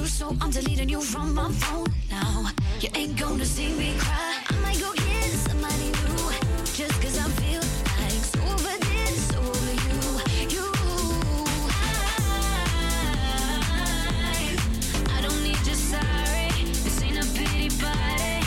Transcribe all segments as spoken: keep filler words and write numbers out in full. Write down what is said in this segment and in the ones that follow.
so I'm deleting you from my phone now. You ain't gonna see me cry. I might go get somebody new, just cause I feel like so over this, so over you. You, I, I don't need your sorry. This ain't a pity party.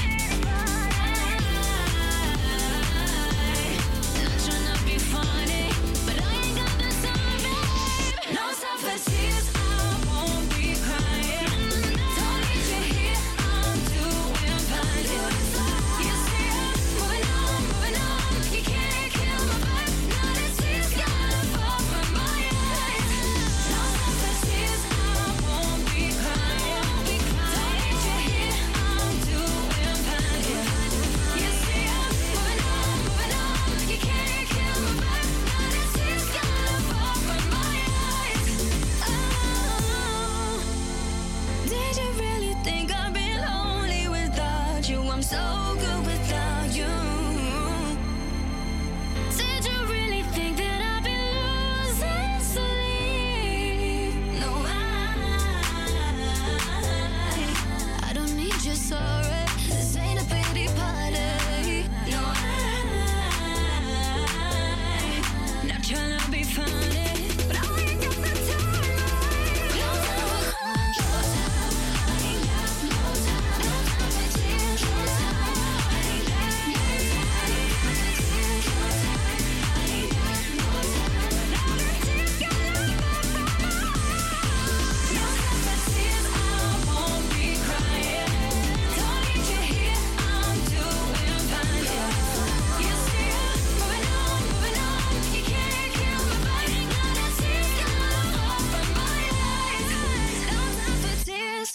Not trying to be funny, but I ain't got the time, babe. No time for tears, I won't be crying. Don't need you here, I'm doing fine. You see I'm moving on, moving on. You can't kill my vibe. Now the tears gotta fall from my eyes. No time for tears, I won't be crying. Don't need you here, I'm doing fine. You see I'm moving on, moving on. You can't kill my vibe. Now the tears gotta fall from my eyes. Oh, did you really think I'd be lonely without you? I'm so good without you. Did you really think that I'd be losing sleep? No, I, I don't need your sorry. This ain't a pity party. No, I, not trying to be funny, but I ain't got the time. No time, no time. I ain't got no time. No time for tears. No time. I ain't got no time. No time for tears. No time. I ain't got no time. Now the tears gotta fall from my eyes. No time for tears. I won't be crying. Don't need you here. I'm doing fine. You see I'm moving on, moving on. You can't kill my vibe. Now the tears gotta fall from my eyes. No time for tears.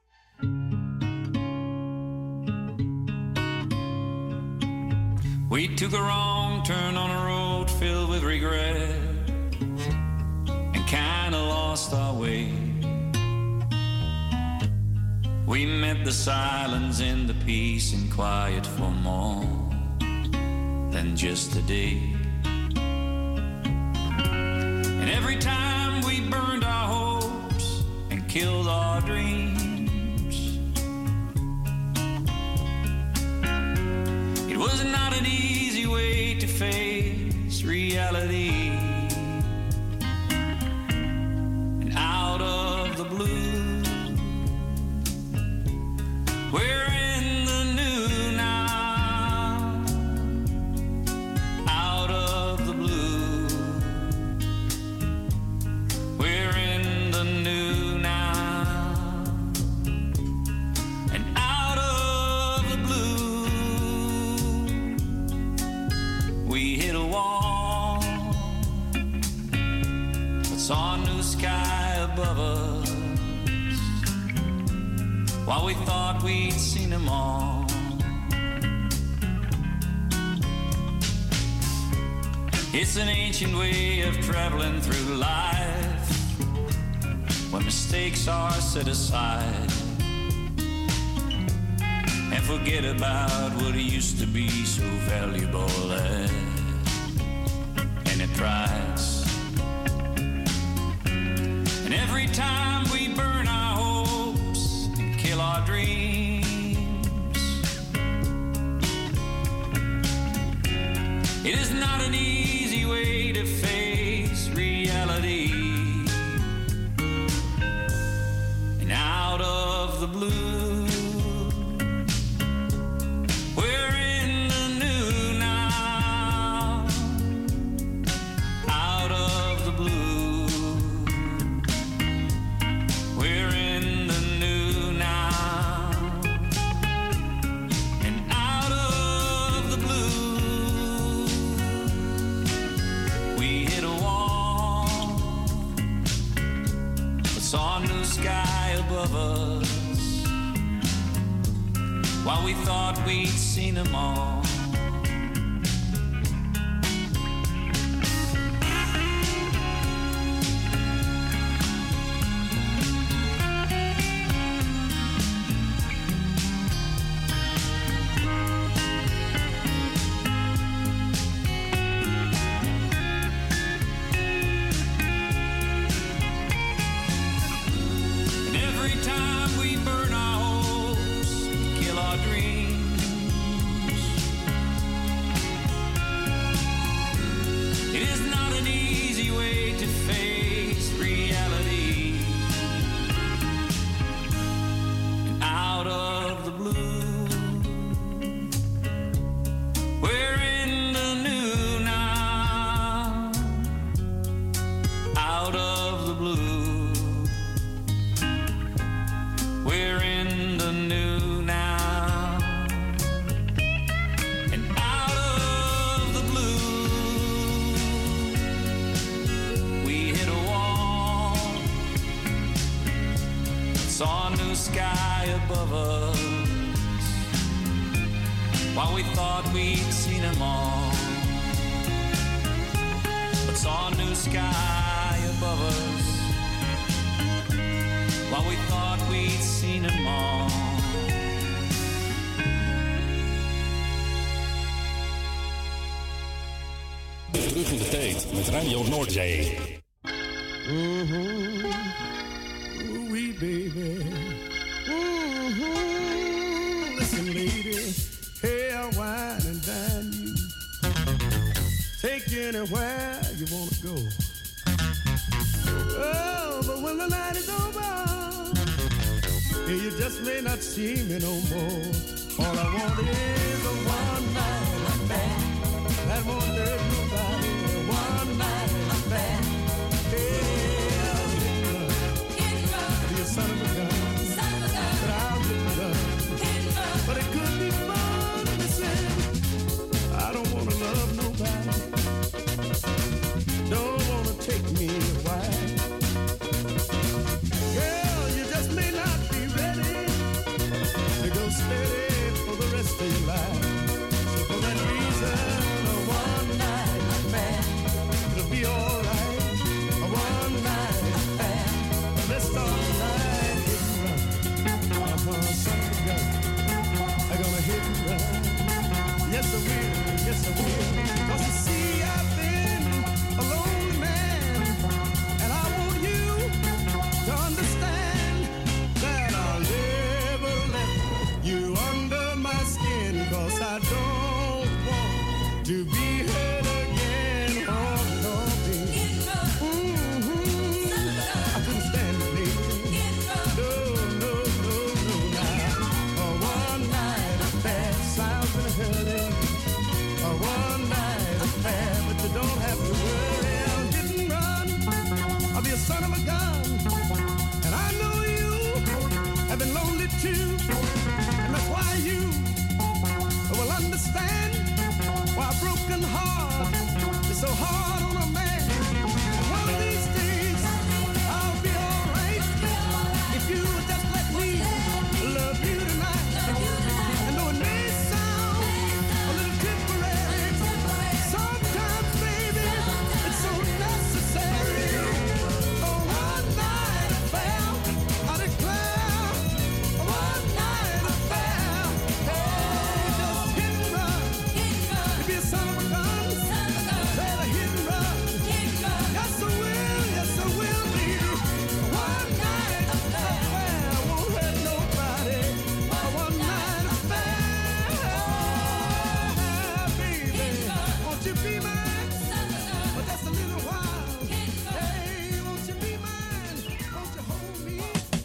We took a wrong turn on a road filled with regret and kinda lost our way. We met the silence and the peace and quiet for more than just a day. And every time we burned our hopes and killed our dreams, it was not an easy way to face reality. And out of the blue, we're in the new now. Out of the blue, we're in the new now. And out of the blue, we hit a wall, but saw a new sky above us. While we thought we'd seen them all, it's an ancient way of traveling through life, when mistakes are set aside and forget about what used to be so valuable at any price. And every time we burn our hopes and kill our dreams, it is not an easy way to face reality. And out of the blue, we're in the new now. Out of the blue, we're in the new now. And out of the blue, we hit a wall, but saw a new sky above us, while we thought we'd seen them all. And every time new sky above us, while we thought we'd seen them all. But saw a new sky above us, while we thought we'd seen them all. Terug in de tijd met Radio Noordzee. Mm-hmm. Ooh-wee, baby. Mm-hmm. Listen, lady, hey, I'll wine and dine you. Take you anywhere you want to go. Oh, but when the night is over, hey, you just may not see me no more. All I want is a one night affair that won't hurt nobody. One night affair. Son of a gun, son of a gun, but I'll get the gun. But it could be fun, listen. I don't wanna love nobody. Don't wanna take me away. Girl, you just may not be ready to go steady for the rest of your life. So for that reason, a one night affair, it'll be alright. A one night affair. Let's start. Yes, I will, yes, I will. 'Cause you see, I've been a lonely man, and I want you to understand that I'll never let you under my skin, 'cause I don't want to be hurt again. Oh, no, baby. Mm-hmm. I couldn't stand it, baby. No, no, no, no, now. A one night affair sounds in a hurry. A one night affair, but you don't have to worry. I'll hit and run. I'll be a son of a gun. And I know you have been lonely too. And that's why you will understand why a broken heart is so hard on a man. And one of these days, I'll be alright if you just let me love you tonight. And though it may sound a little temporary, sometimes, baby, it's so necessary. A one night affair, I declare, a one night affair. Hey, just hit and run. You be a son of a gun, better hit and run. Yes, I will, yes, I will, baby. A one night affair won't hurt nobody. A one night affair, baby. Won't you be mine? But that's a little while. Hey, won't you be mine? Won't you hold me?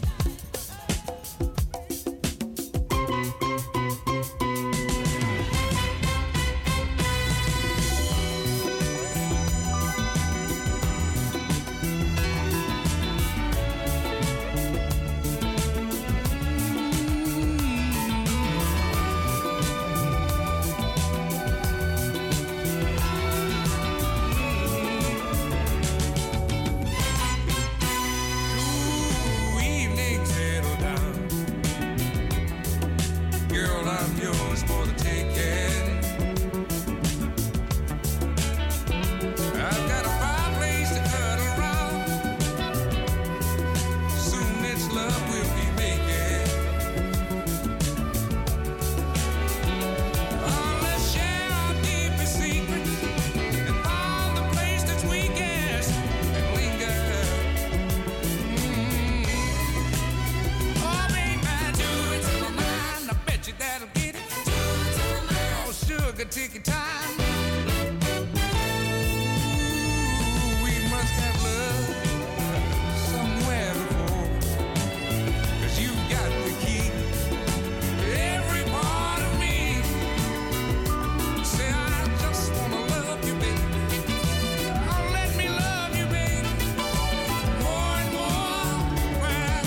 Ooh, evening settle down. Girl, I'm yours for the taking. I've got a fireplace to cuddle around. Soon it's love we'll be making. Oh, let's share our deepest secrets and find the place that's weakest and linger. Oh, baby, do it to my mind. I bet you that'll get it. Do it to my mind. Oh, sugar, take your time. Ooh, we must have love somewhere before. 'Cause you got the key to every part of me. Say, I just wanna love you, baby. Oh, let me love you, baby. More and more. Well,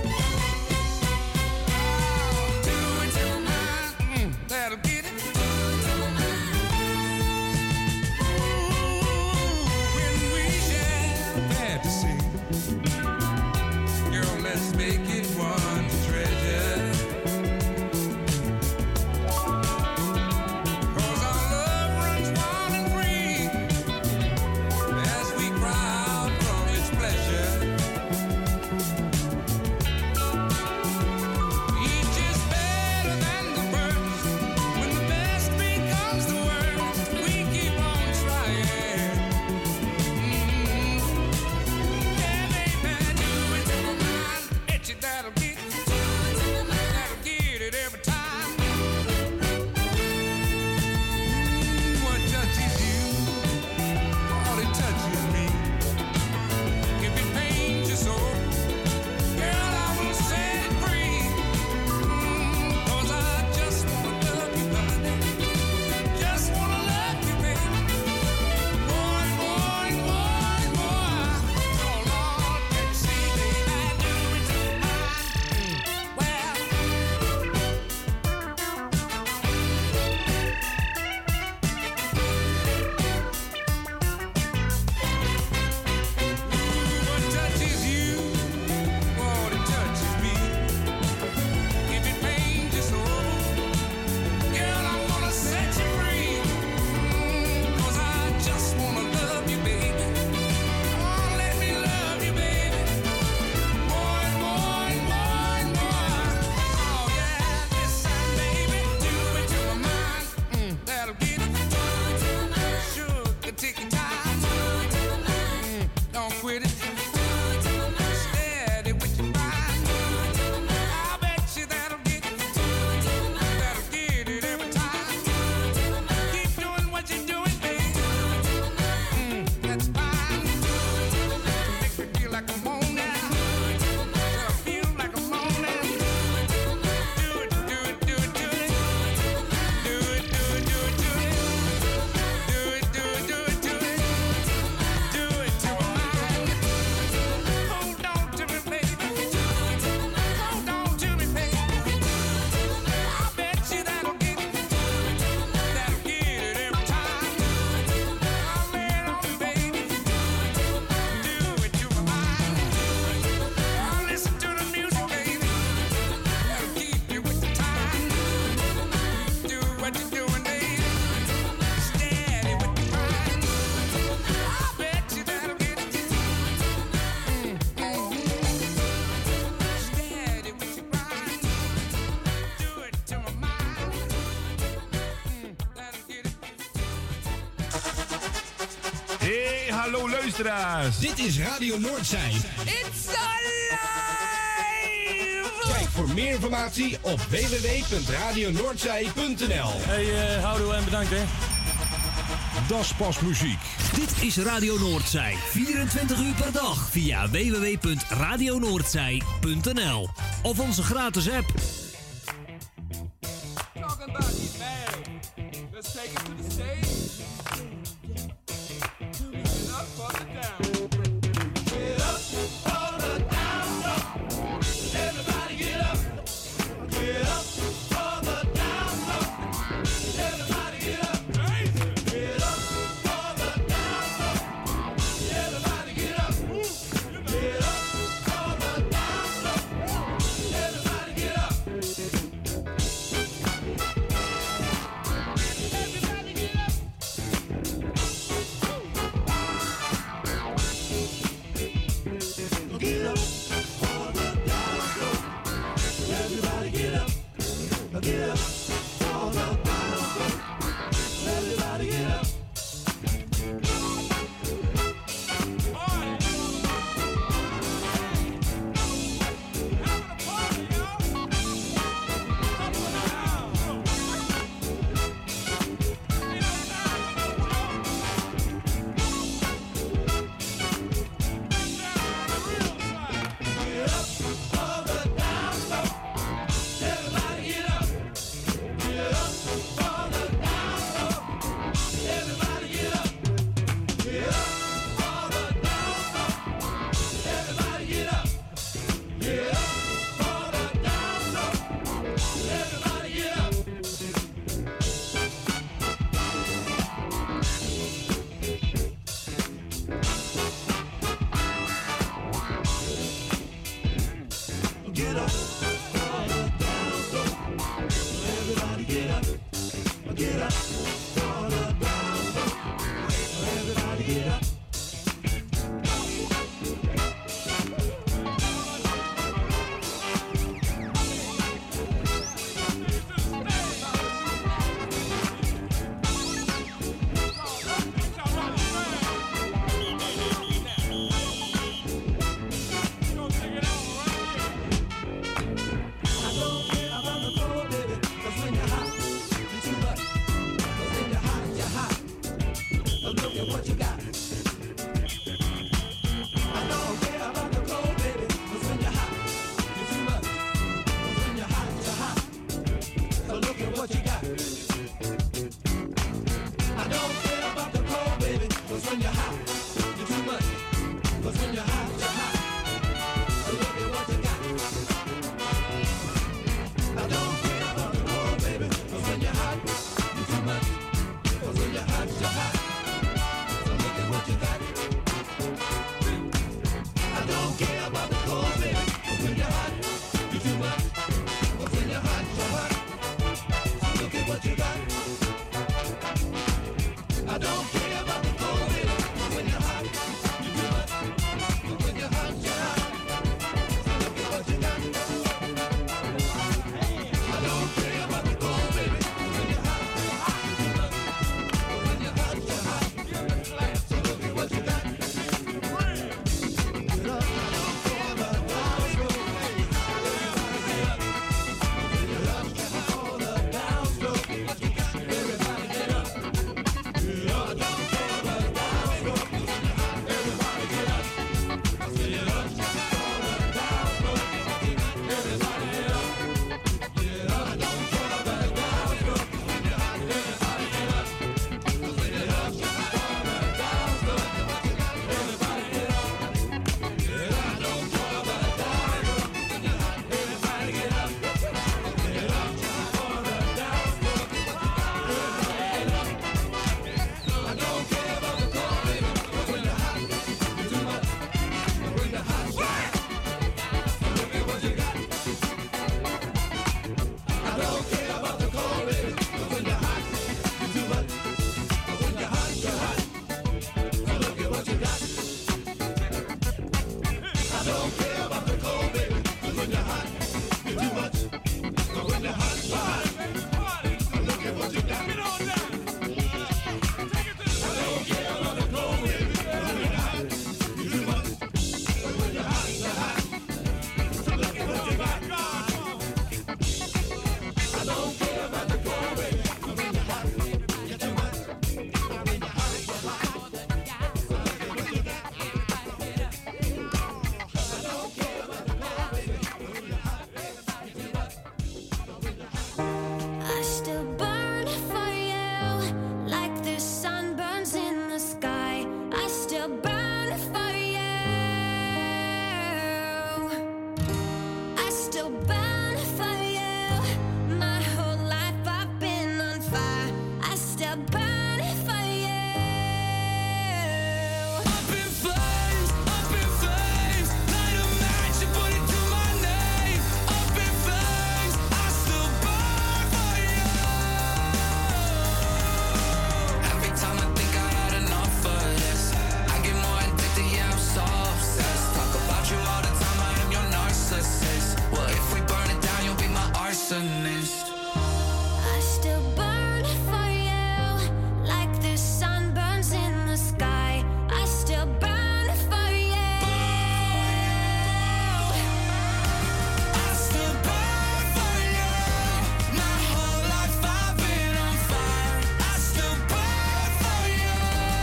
do it to my mind. Mm, that'll get it. Do it to my mind. Ooh, when we share fantasy, girl, let's make it one. don't quit it. Steady with your mind. I bet you that'll get it. That'll get it every time. Keep doing what you're doing, baby. Mm, that's fine. Make me feel like I'm on now. I feel like I'm on now. Do it, do it, do it, do it. Do it, do it, do it, do it. Do it, do it, do it, do it. Do it to my mind. Hold on to me, baby. Hold on to me, baby. I bet you that'll get it. That'll get it every time. I'll lay it on you, baby. Do it to my mind. I'll listen to the music, baby. That'll keep you with the time. Do what you're doing, baby. Steady with the grind. I bet you that'll get it. Mm, mm. Steady with your grind. Do it to my mind. Mm, that'll get it. Hey, hallo luisteraars. Dit is Radio Noordzij. It's alive! Kijk voor meer informatie op w w w punt radio noordzij punt n l. Hey, uh, houdoe en bedankt, hè. Das pas muziek. Dit is Radio Noordzij. vierentwintig uur per dag via w w w punt radio noordzij punt n l of onze gratis app. Talking about you bad. Let's take it to the stage. Get up for the down. Get up for the down. Everybody get up. Get up for the down. Everybody get up. Get up for the down. Everybody get up. Get up for the down. Everybody get up. Everybody get up. Get up for the down. Everybody get up. Get up for the down. Everybody get up. Get up for the down. Everybody get up. Get up for the down. Everybody get up. don't care about the cold, baby. 'Cause when you're hot, you're too much. But when you're hot, you're hot. Look at what you got. Get on down. I don't care about the cold, baby. 'Cause when you're hot, you're too much. But when you're hot, you're hot. So look at what you got. I don't care about the cold, baby. 'Cause when you're hot, you're too much. But when you're hot, you're hot. So look at what you got. I don't care about the cold, baby. 'Cause when you're hot, you're too much. But when you're hot. I still burn for you like the sun burns in the sky. I still burn for you. I still burn for you. My whole life I've been on fire. I still burn for you. Up in flames, up in flames. Light a match and put it to my name. Up in flames, I still burn for you. Every time I think I had enough of this, I get more addicted, yeah, I'm so obsessed. Talk about you all the time, I am your narcissist. Well, if we burn it down, you'll be my arsonist. I still burn for you like the sun burns in the sky. I still burn for you. I still burn for you. My whole life I've been on fire. I still burn for you.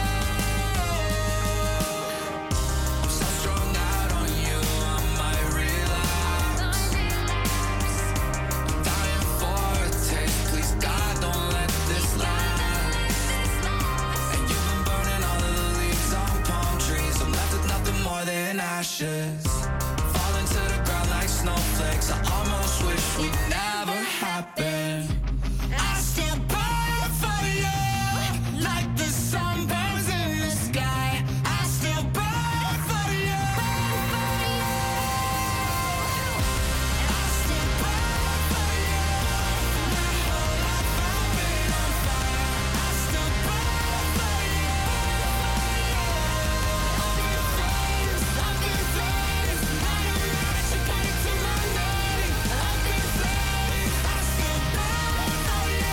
I'm so strung out on you, I might relapse. I'm dying for a taste. Please, God, don't let this last. And you've been burning all of the leaves on palm trees. I'm left with nothing more than ashes. Falling to the ground like snowflakes. I almost wish would never happen. I still burn for you like the sun burns in the sky. I still burn for you. I still burn for you. My whole life I've been on fire. I still burn for you. Up in flames, up in flames. Light a match and put it to my name. Up in flames, I still burn for you.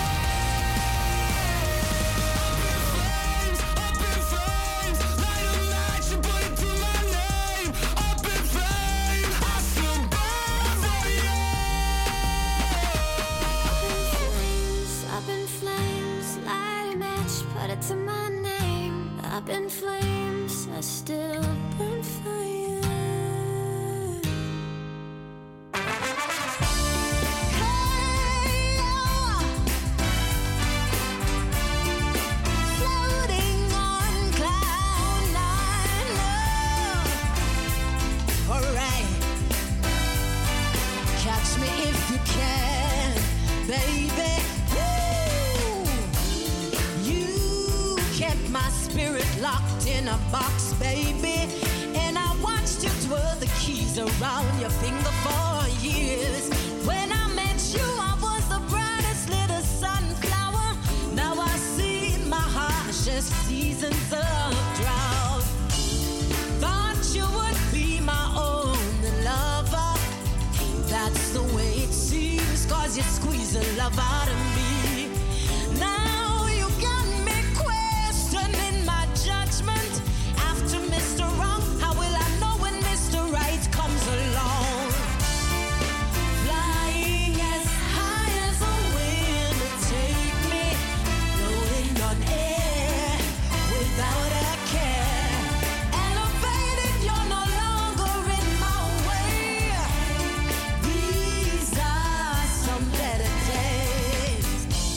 Up in flames, up in flames. Light a match and put it to my name. Up in flames, I still burn for you. Up in flames, light a match, put it to my name. Up in flames, I still burn for you. Hey, oh. Floating on cloud nine, oh. All right. Catch me if you can, baby. Woo! You kept my spirit locked in a box, baby. And I watched you twirl the keys around your finger for years. When I met you, I was the brightest little sunflower. Now I see my harshest seasons of drought. Thought you would be my only lover. That's the way it seems, 'cause you squeeze the love out of me. Now you got me questioning my judgment. After Mister Wrong, how will I know when Mister Right comes along? Flying as high as a wind to take me, floating on air without a care. Elevated, you're no longer in my way. These are some better days.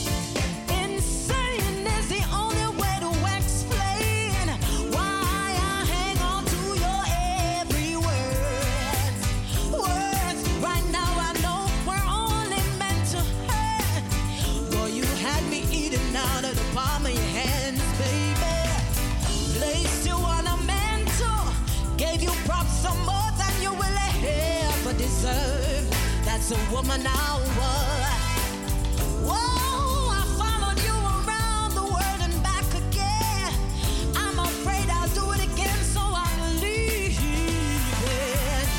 Insane is the only way to explain why I hang on to your every word. Words, right now I know we're only meant to hurt. Boy, you had me eating out of the palm of your hands, baby. Placed you on a mantle, gave you props some more than you will ever deserve. That's a woman I was. Whoa, I followed you around the world and back again. I'm afraid I'll do it again, so I'm leaving.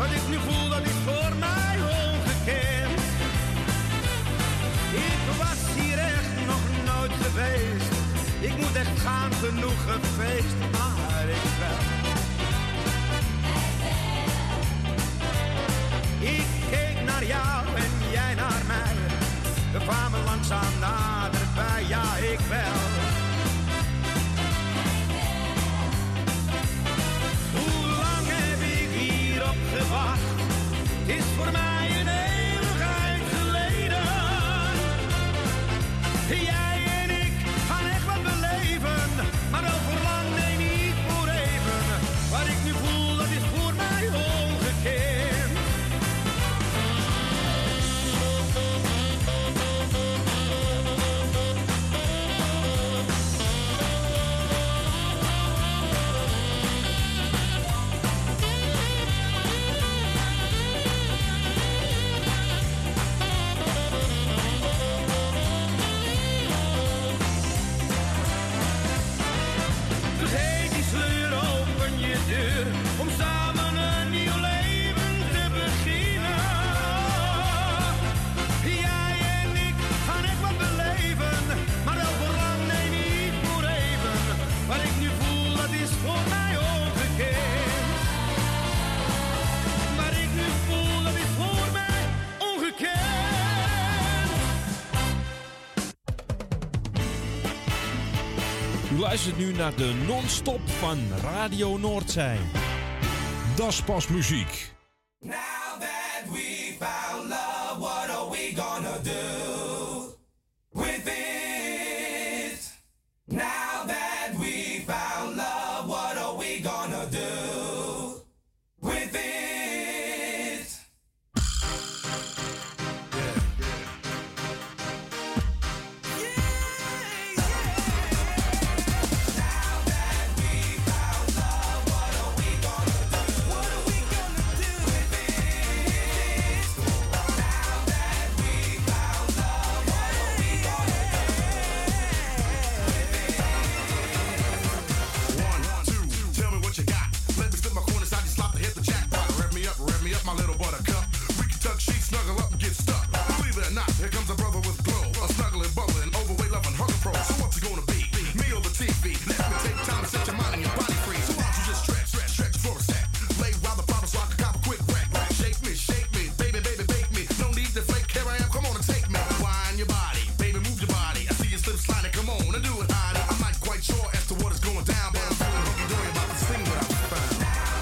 Wat ik nu voel, dat is voor mij ongekend. Ik was hier echt nog nooit geweest. Ik moet echt gaan, genoeg gefeest, maar ik wel. Ik keek naar jou en jij naar mij. We kwamen langzaam naderbij, ja ik wel. Hoe lang heb ik hierop gewacht? Het is voor mij een eeuwigheid geleden. Jij en ik gaan echt wat beleven, maar wel voor lang, nee niet voor even. Wat ik nu voel, dat is voor mij ongekend. Om samen een nieuw leven te beginnen. Jij en ik gaan echt wat beleven, maar wel voor lang, nee niet voor even. Wat ik nu voel, dat is voor mij ongekend. Wat ik nu voel, dat is voor mij ongekend. U luistert nu naar de non-stop van Radio Noordzee. Das pas muziek. Now that we found love, what are we gonna do with it? Now that we found love, what are we gonna do with it? My little buttercup, we can tuck sheets, snuggle up and get stuck. Believe it or not, here comes a brother with glow, a snuggling, bubbling, overweight, loving, hunger pro. So what's it gonna be? Me or the T V? Let me take time to set your mind and your body free. So why don't you just stretch, stretch, stretch for a sec? Lay while the problem so I can cop a quick wreck. Shake me, shake me, baby, baby, bake me. No need to fake, here I am, come on and take me. Wind your body, baby, move your body. I see you slip sliding, come on and do it, honey. I'm not quite sure as to what is going down, but I'm feeling hunky-dory about to sing what I found.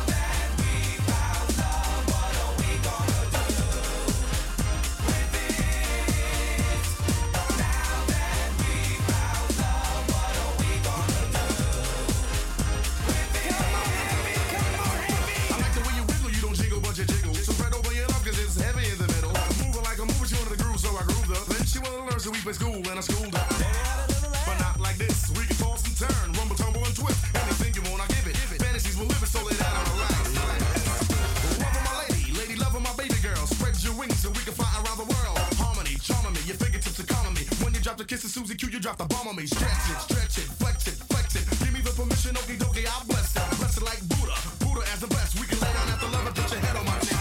So we play school and I schooled her. But not like this. We can toss and turn, rumble, tumble, and twist. Anything you want, I give it. Fantasies will live it, so lay down and relax. Love my lady, lady loving my baby girl. Spread your wings so we can fly around the world. Harmony, charming me, your fingertips are calming me. When you drop the kiss of Susie Q, you drop the bomb on me. Stretch it, stretch it, flex it, flex it. Give me the permission, okie dokie, I'll bless it. Bless it like Buddha, Buddha as the best. We can lay down after love and put your head on my chest.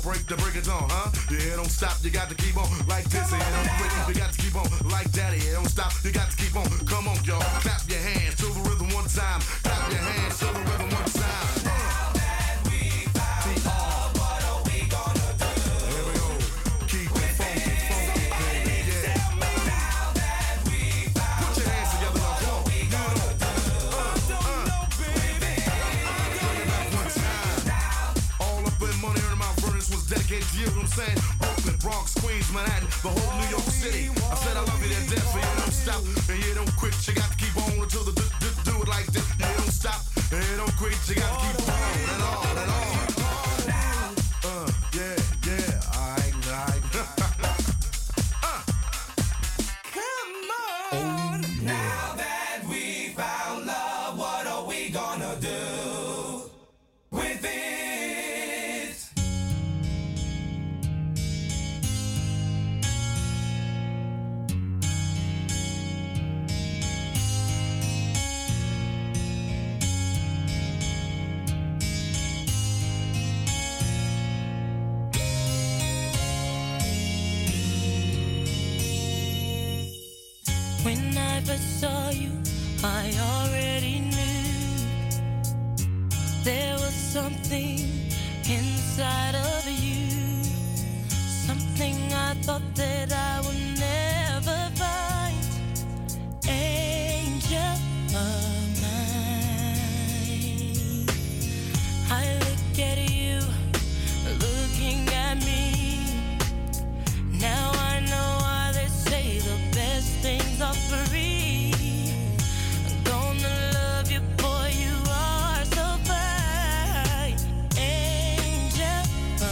break the break it on, huh? Yeah, don't stop, you got to keep on like this. Yeah, don't quit, you got to keep on like that. Yeah, don't stop, you got to keep on. Come on, y'all, clap your hands to the rhythm one time. Clap your hands to the rhythm one time. Now that we found love, what are we gonna do? Here we go. Keep it funky, funky, baby. Yeah. Tell me now that we found Put your hands together, now, come on. we gonna do? Don't know, baby. One time. All up in money, earning my furnace was dedicated to you, you know what I'm saying? Brooklyn, Bronx, Queens, Manhattan, the whole New York City. I said I love you to death, but you don't stop, and you don't quit. You got to keep on until the do, do, do it like this. You don't stop, and you don't quit. You got to keep on and on and on. Uh, yeah, yeah, alright, alright. uh. Come on. Now that we found love, what are we gonna do with it? When I first saw you, I already knew there was something inside of you, something I thought that I would never find. Angel of mine, I look at you, looking at me. Now I know why they say the best things are free. I'm gonna love you, boy, you are so fine. Angel of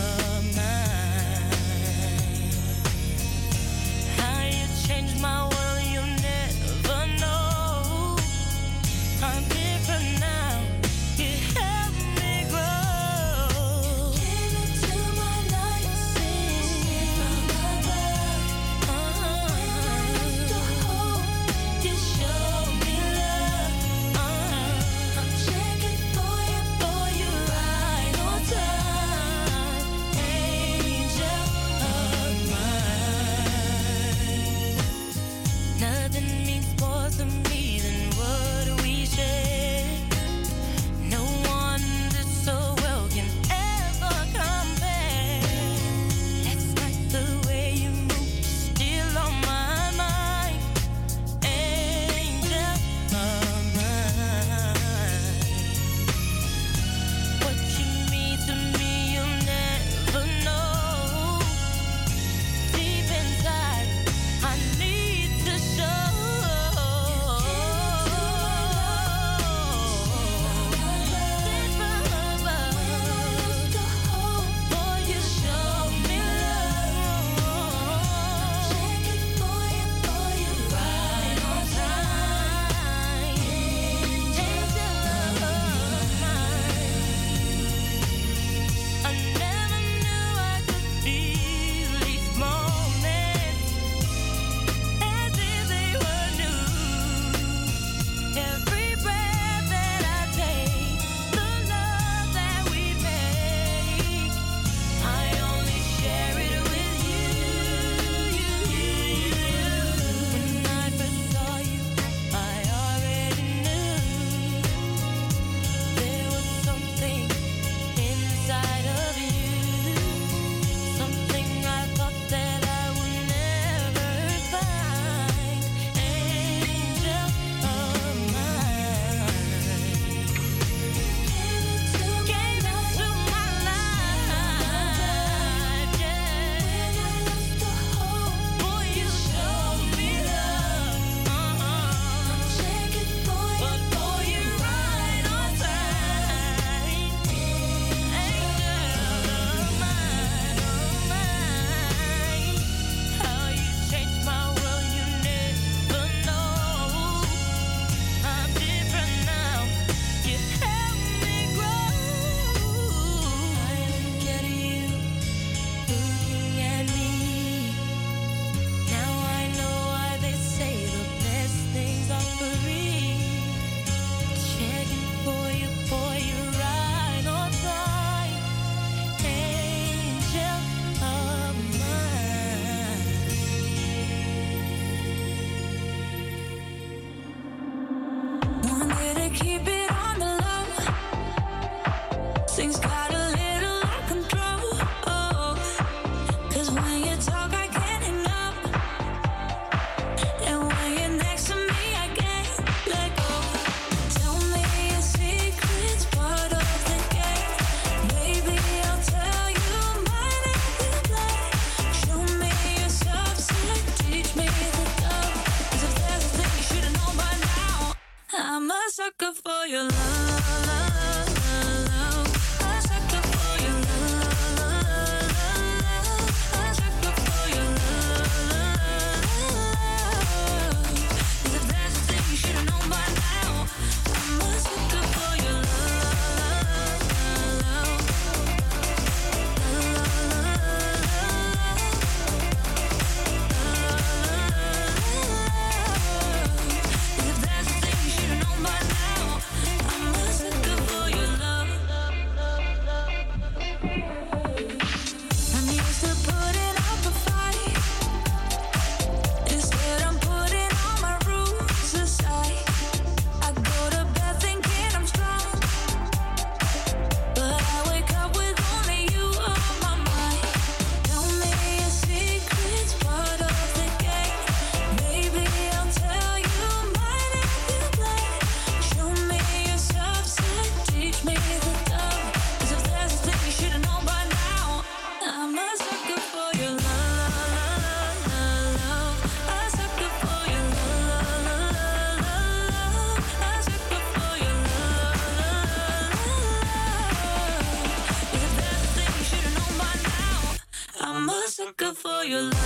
a sucker for your love.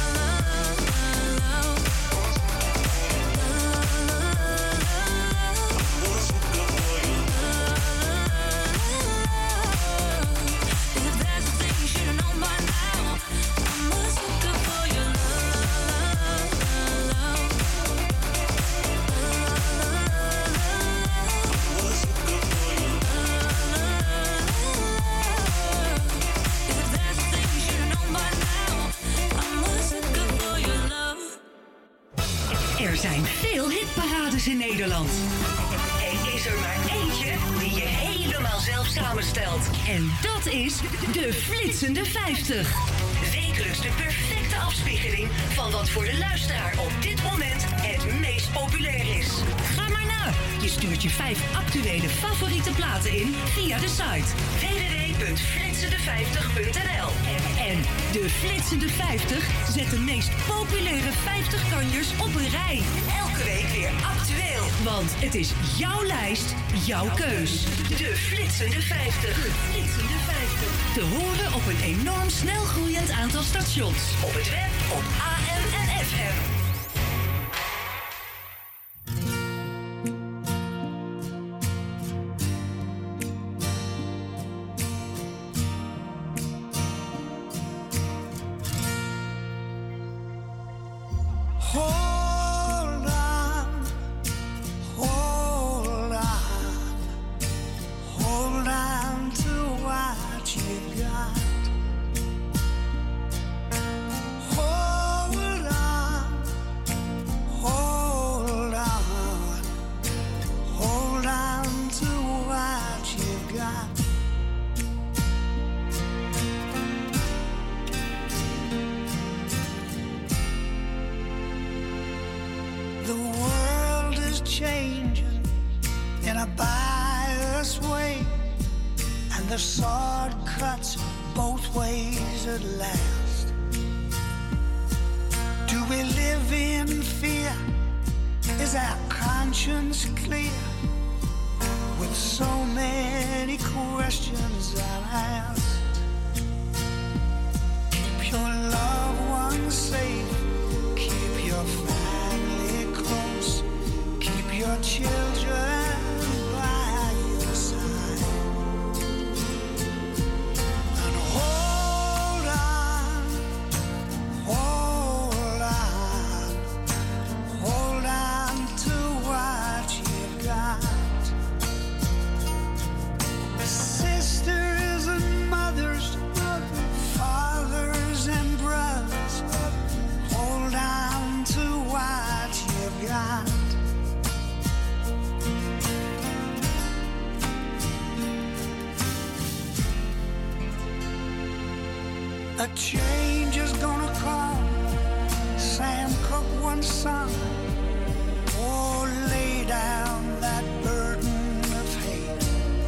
Er zijn veel hitparades in Nederland. Er is er maar eentje die je helemaal zelf samenstelt. En dat is de Flitsende vijftig. Wekelijks de perfecte afspiegeling van wat voor de luisteraar op dit moment het meest populair is. Ga maar na. Je stuurt je vijf actuele favoriete platen in via de site w w w punt flitsende vijftig punt n l. En de Flitsende vijftig zet de meest populaire vijftig kanjers op een rij. Elke week weer actueel. Want het is jouw lijst, jouw keus. De Flitsende vijftig. De Flitsende vijftig. Te horen op een enorm snel groeiend aantal stations. Op het web, op A M en F M. Hold on, hold on, hold on to what you got. Hold on, hold on, hold on to what you got. The world is changing in a biased way, and the sword cuts both ways at last. Do we live in fear? Is our conscience clear? With so many questions unasked. Keep your loved ones safe. Keep your family close. Keep your children by your side. And hold on, hold on, hold on to what you've got. Sisters and mothers, fathers and brothers, hold on to what you've got. A change is gonna come. Sam Cooke once sung, oh, lay down that burden of hate.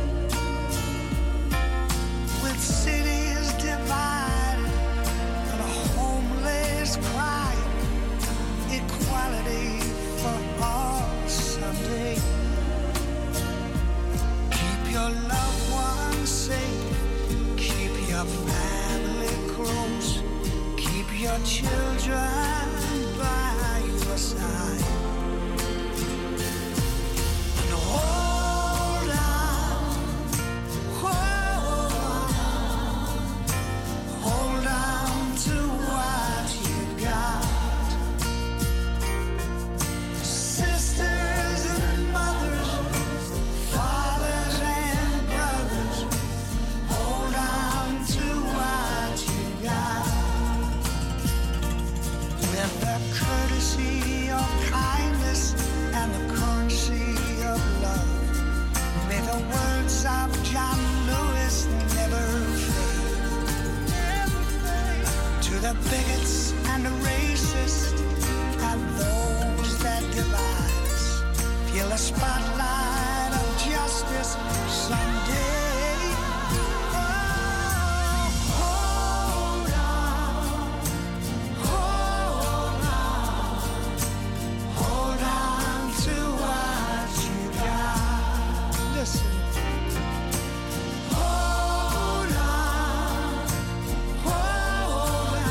With cities divided and a homeless crying, equality for all someday. Keep your loved ones safe. Keep your family close. Keep your children by your side. And hold on, hold on, hold on to what you've got. Sisters and mothers, fathers and brothers, hold on to what you got. With the courtesy of kindness and the currency of love, may the words of John Lewis never fade. To the bigots and the racists and those that divide us, feel the spotlight of justice someday. Oh, hold on, hold on, hold on to what you got. Listen. Hold on, hold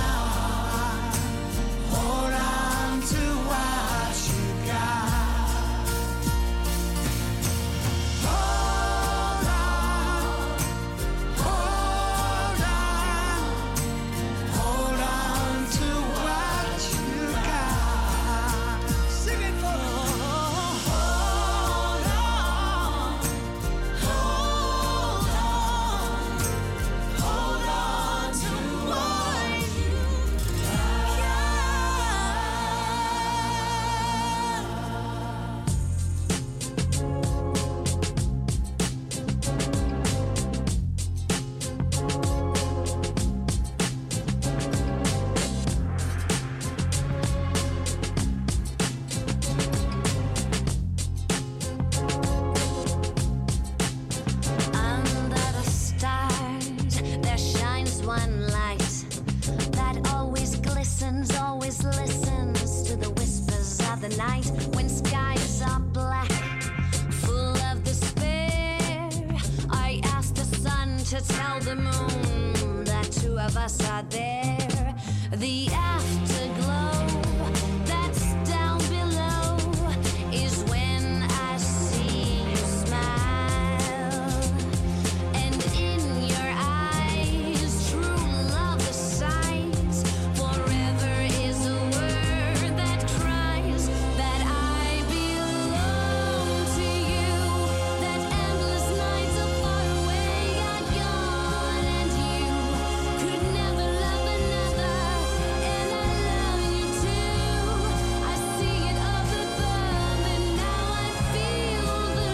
to tell the moon that two of us are there. The afterglow that's down below is when I see you smile. And in your eyes, true love is sight. Forever is a word that cries that I belong to you. That endless nights are far away are gone, and you could never love another. And I love you too. I see it up above, and now I feel the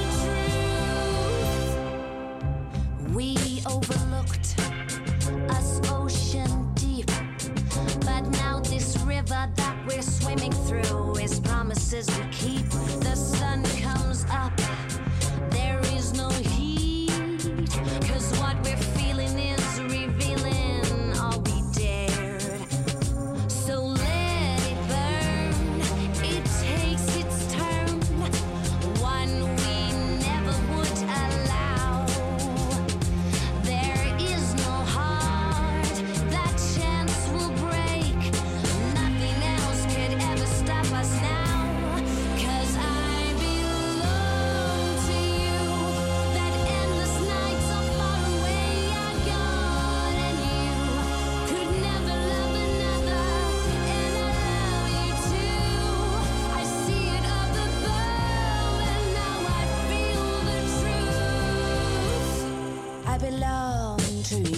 truth. We overlooked us ocean deep, but now this river that we're swimming through is promises we keep. The sun comes up, there is no heat, 'cause what we're feeling is revealing all we dared. So let it burn, it takes its turn, one we never would allow. There is no heart that chance will break. Nothing else could ever stop us now. 'Cause I belong to you. That endless nights are far away are gone, and you could never love another. And I love you too. I see it up above, and now I feel the truth. I belong to you.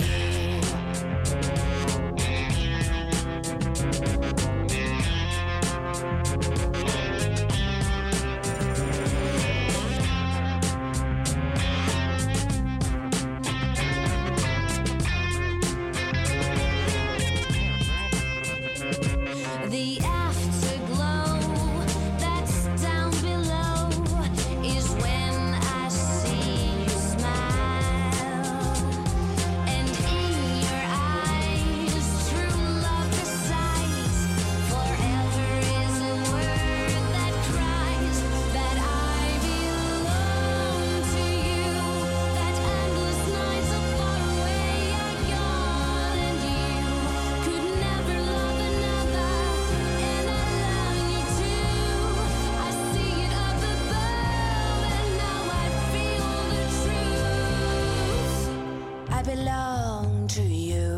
The afterglow that's down below is when I see you smile. And in your eyes, true love resides. Forever is a word that cries that I belong to you. That endless nights are far away are gone, and you could never love another. And I love you too. I see it up above, and now I feel the truth. I belong to you.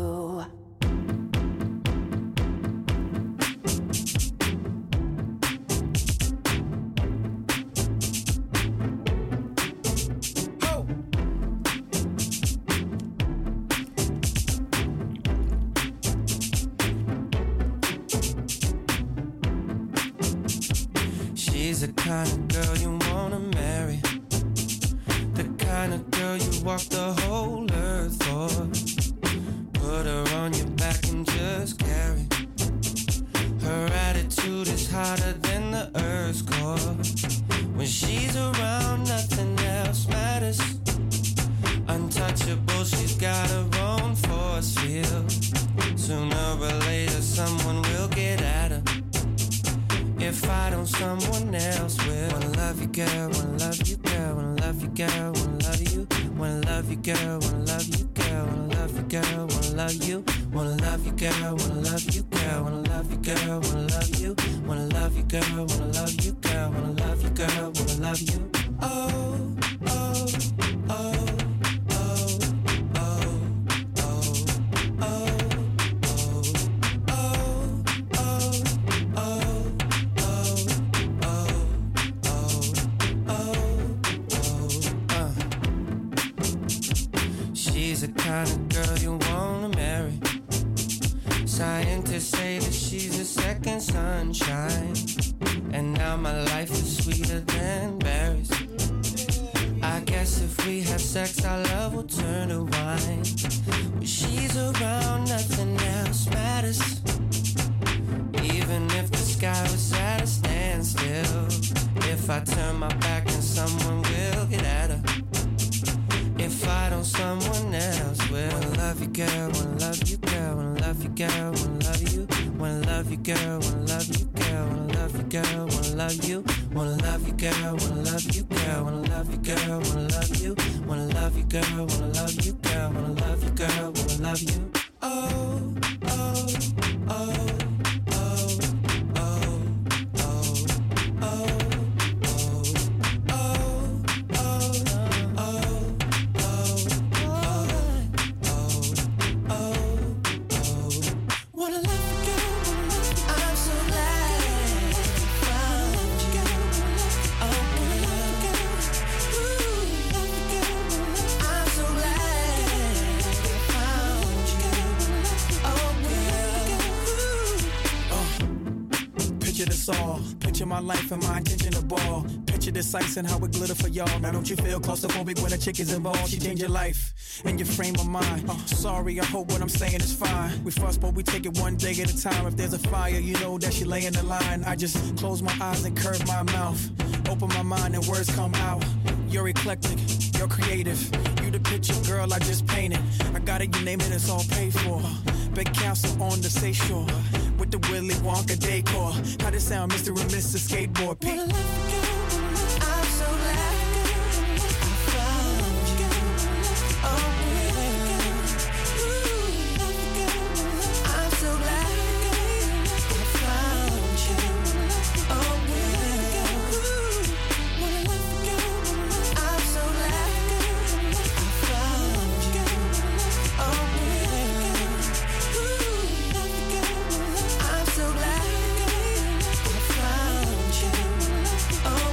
She's the kind of girl you wanna marry, the kind of girl you walk the whole earth for. Put her on your back and just carry. Her attitude is hotter than the earth's core. When she's around, nothing else matters. Untouchable, she's got her own force field. Sooner or later, someone will get at her. If I don't, someone else will. Wanna love you, girl, wanna love you, girl, wanna love you, girl, wanna love you. Wanna love you, girl, wanna love you, girl, wanna love you, girl, wanna love you. Wanna love you, girl, wanna love you, girl, wanna love you, girl, wanna love you. Wanna love you, girl, wanna love you, girl, wanna love you, girl, wanna love you. Oh, oh, oh. She's the kind of girl you wanna marry. Scientists say that she's a second sunshine. And now my life is sweeter than berries. I guess if we have sex, our love will turn to wine. When she's around, nothing else matters. Even if the sky was at a standstill. If I turn my back, then someone will get at her. If I don't, someone else will. Wanna love you, girl, wanna love you, girl, wanna love you, girl, wanna love you. Wanna wanna love you, girl, wanna love you, girl, wanna love you, girl, wanna love you, wanna love you, girl, wanna love you, girl, wanna love you, girl, wanna love you, wanna love you, girl, wanna love you, girl, wanna love you, girl, wanna love you. Oh, oh, oh. Picture my life and my intention to ball. Picture this ice and how it glitter for y'all. Now don't you feel claustrophobic when a chick is involved? She change your life and your frame of mind. Uh, sorry, I hope what I'm saying is fine. We fuss, but we take it one day at a time. If there's a fire, you know that she lay in the line. I just close my eyes and curve my mouth. Open my mind and words come out. You're eclectic, you're creative. You the picture, girl, I just painted. I got it, you name it, it's all paid for. Big castle on the seashore with the Willy Wonka decor. How this sound, Mister and Missus Skateboard Pete? I'm so glad I found you. Oh, I'm so glad I found you. Oh, I'm so glad I found you. Oh, I'm so glad I found you. Oh,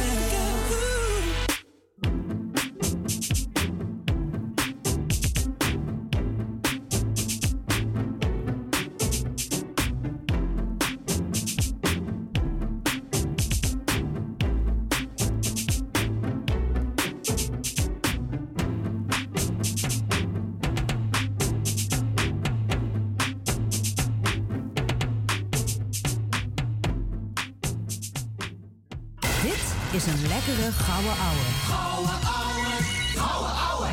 Dit is een lekkere gouden ouwe. Gouden ouwe, gouden ouwe.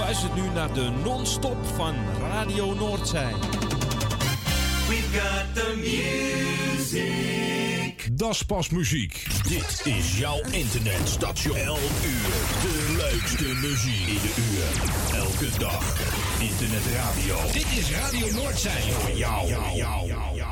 luistert nu naar de non-stop van Radio Noordzij. We've got the music. Das pas muziek. Dit is jouw internetstation. Elk uur de leukste muziek in de uur. Elke dag internetradio. Dit is Radio Noordzij voor jou. jou, jou, jou, jou.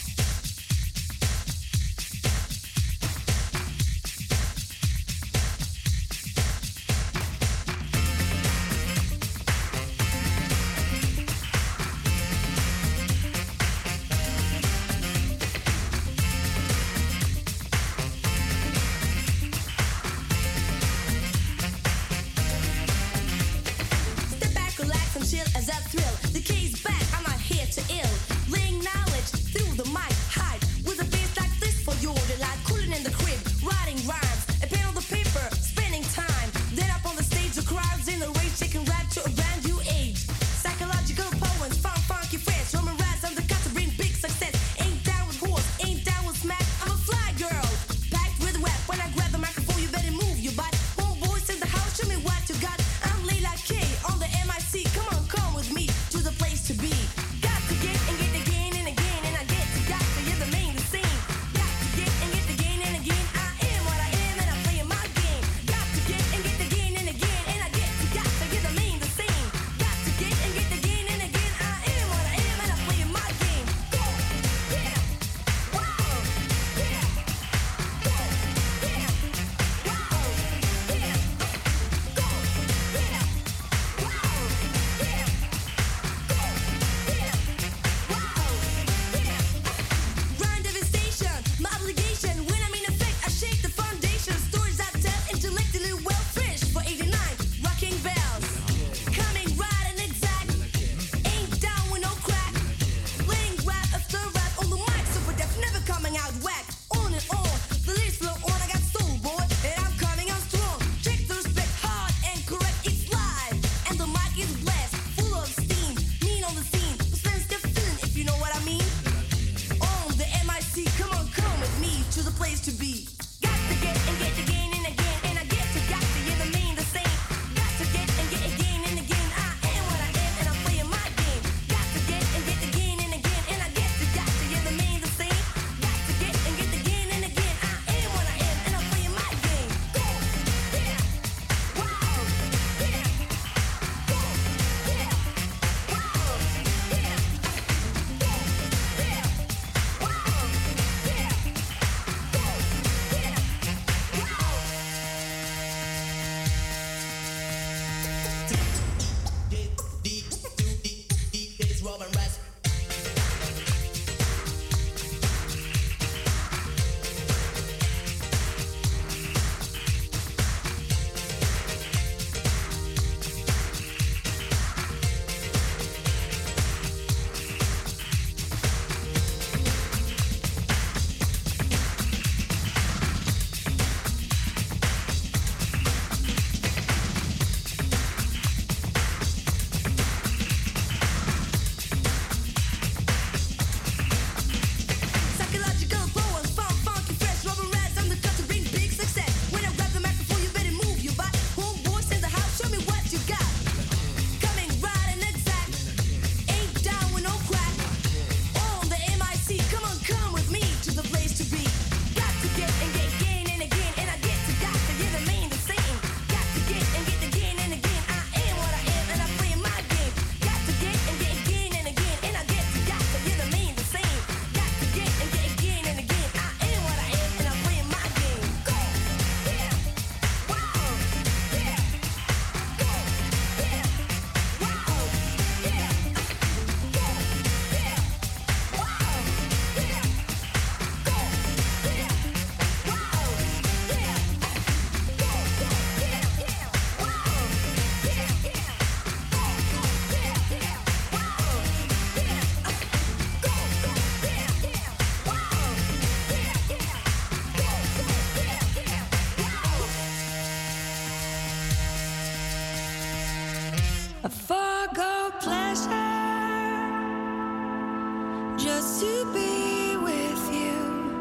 just to be with you,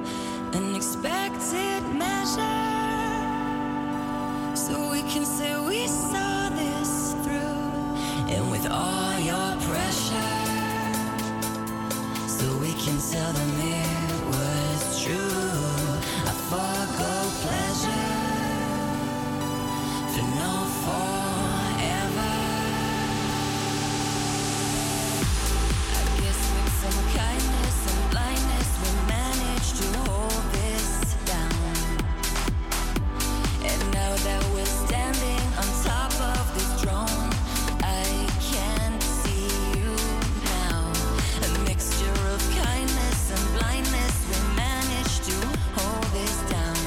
an expected measure, so we can say we saw this through. and with all your pressure, so we can tell them it was true. I forgo pleasure for no forever. I guess with some kindness and blindness we managed to hold this down. And now that we're standing on top of this throne, I can't see you now. A mixture of kindness and blindness, we managed to hold this down.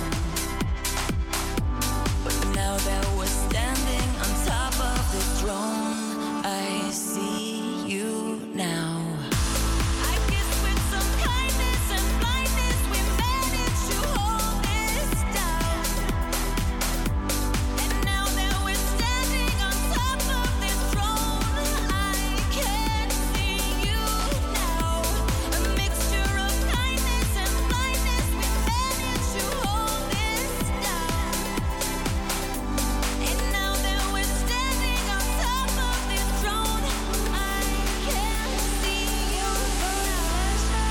But now that we're standing on top of this throne, I see you now. I guess with some kindness and blindness we managed to hold this down. And now that we're standing on top of this throne, I can see you now. A mixture of kindness and blindness, we managed to hold this down. And now that we're standing on top of this throne, I can see you now.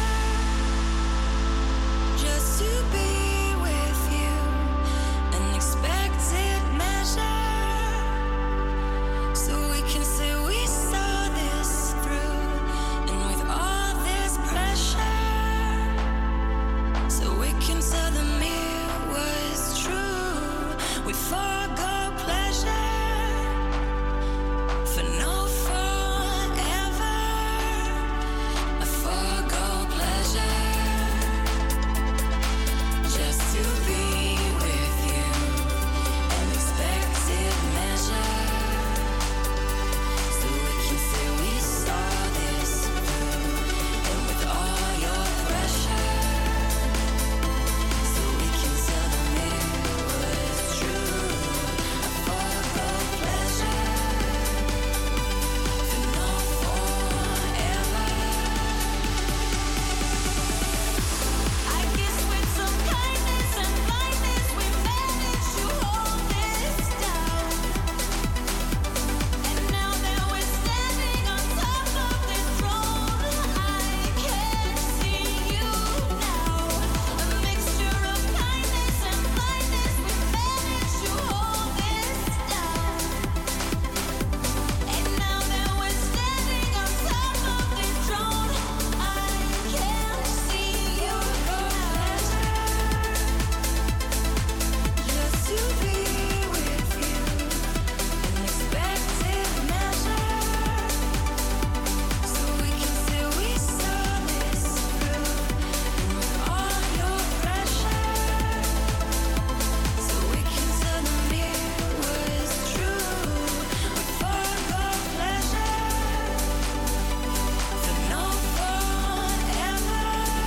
Just to be with you, an expected measure, so we can say we saw this through, and with all this pressure, so we can tell them it was true. We forgo pleasure for no forever. I forgo pleasure just to be with you, an expected measure, so we can say we saw this through, and with all your pressure, so we can tell them it was true. I forgo pleasure for no forever. I guess with some kindness and blindness we managed to hold this down. And now that we're standing on top of this throne, I can see you now. A mixture of kindness and blindness, we managed to hold this down. And now that we're standing on top of this throne, I can see you now. Just to be with you, an expected measure, so we can say we saw this through, and with all your pressure, so we can tell them it was true. We forgo pleasure for no forever.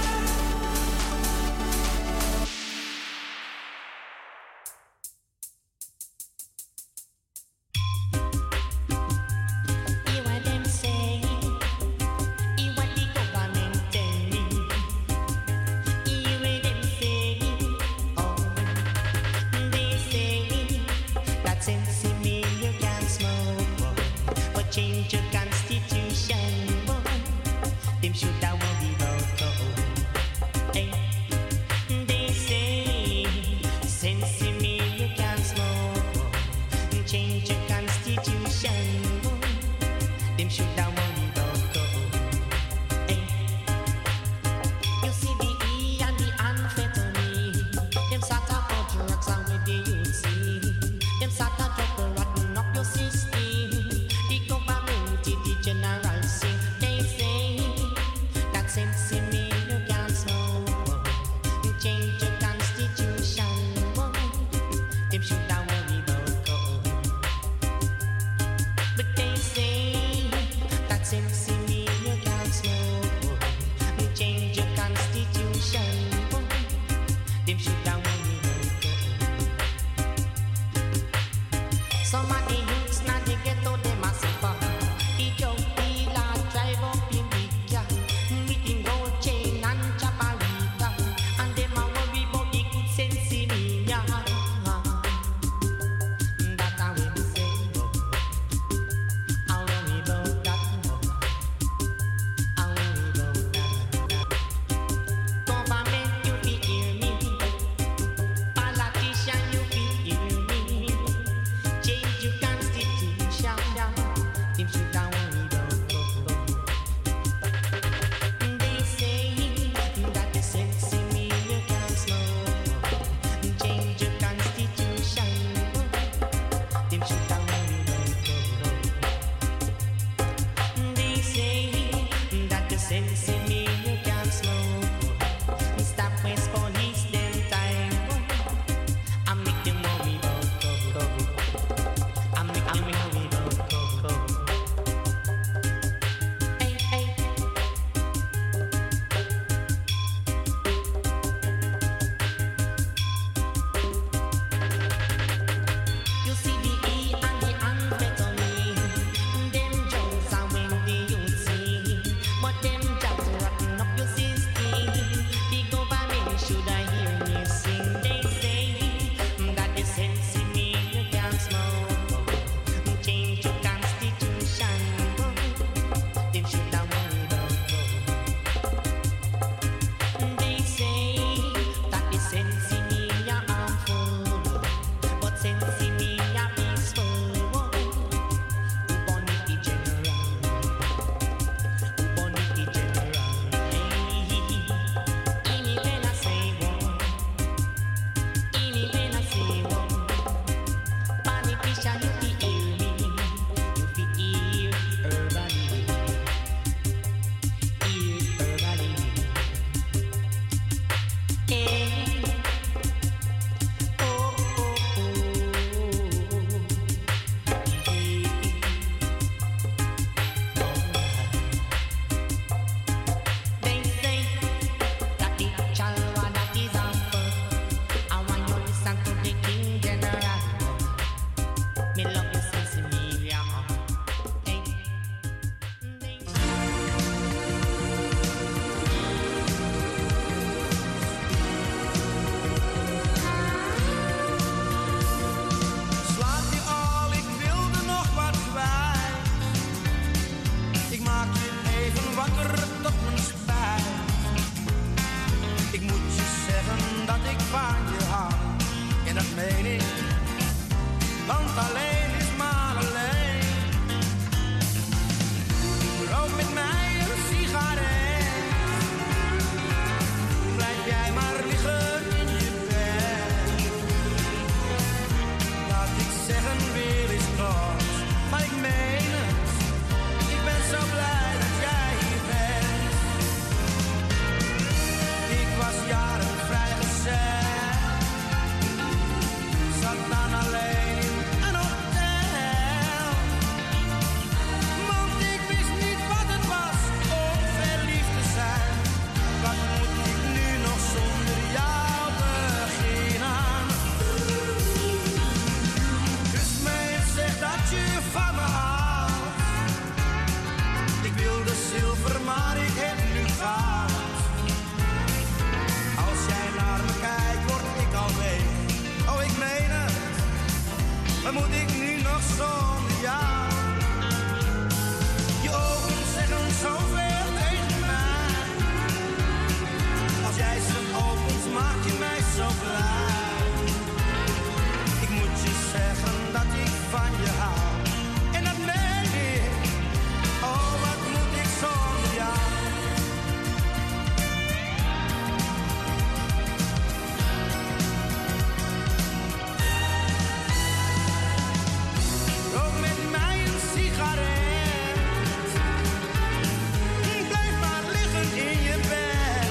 Hear what them say, hear what the government telling. Hear what them say, oh, they say that since you mean you can't smoke, boy, but change your constitution, boy, them should have worried about, oh, hey. They say since you mean you can't smoke, boy, change your constitution, boy, them should have worried about, oh, hey. You see the E and the amphetamine, them sort of cut drugs and with the youth see, them sort of drug will rotten up your system. The government, the general say, they say that since you mean you can't smoke, boy, change your constitution, boy, them should have worried about, oh. But they say that since you mean you can't smoke, boy, change your constitution, boy, them should have worried about, oh. Some of the youths now they get out them a suffer. The young dealer drive up in big car with him gold chain and chaparita, and them a worry about the good sense in me, yeah. zeggen weer is kort, maar ik meen het. Ik ben zo blij dat jij hier bent. Ik was jaren vrijgezel, zat dan alleen in een hotel. Want ik wist niet wat het was om verliefd te zijn. Wat moet ik nu nog zonder jou beginnen? Kus me en zeg dat je van me houdt. Ik wilde zilver, maar ik heb nu goud. Als jij naar me kijkt, word ik al week. Oh, ik meen het. Wat moet ik nu nog zonder jou? Je ogen zeggen zoveel tegen mij. Als jij ze opent, maak je mij zo blij. Ik moet je zeggen dat ik van je hou. En dat meen ik. Oh, wat moet ik zonder jou? Rook met mij een sigaret. Blijf maar liggen in je bed.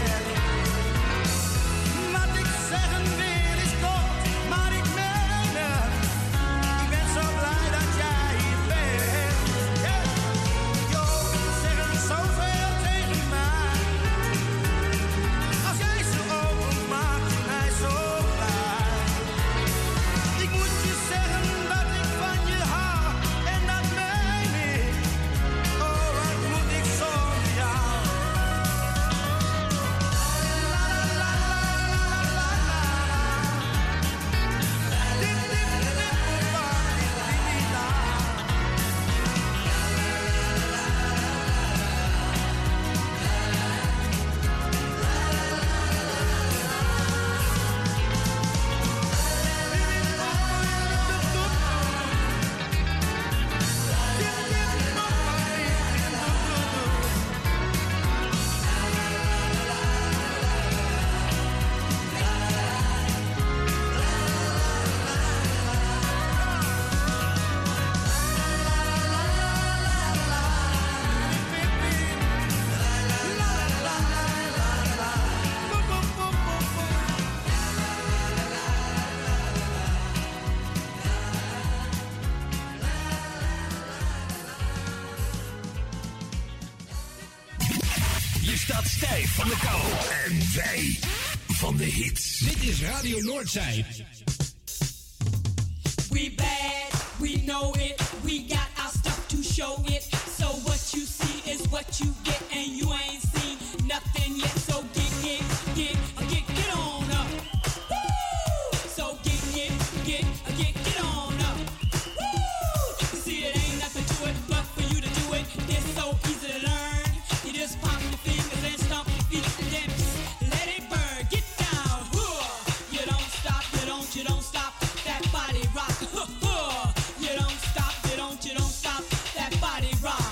Wat ik zeggen wil is kort, maar ik meen het. Ik ben zo blij dat jij hier bent. Je ogen zeggen zoveel tegen mij. Als jij ze opent, maak je mij zo blij. Ik moet je zeggen dat ik van je hou, en dat meen ik. Oh, wat moet ik zonder jou? La la la la la la la. Dip dip dip pa dip dip la. Je staat stijf van de kou. En wij van de hits. Dit is Radio Noordzij. We bad, we know it. We got our stuff to show it. So what you see is what you get, and you ain't seen nothing yet. So get, get, get, get, get on up. Woo! So get, get, get, get, get on up. Woo! You see, it ain't nothing to it, but for you to do it, it's so easy to learn. You just pop your fingers and stomp your feet, and then psst, let it burn. Get down. Whoa! You don't stop, you don't, you don't stop. That body rock. You don't stop, you don't, you don't stop. That body rock.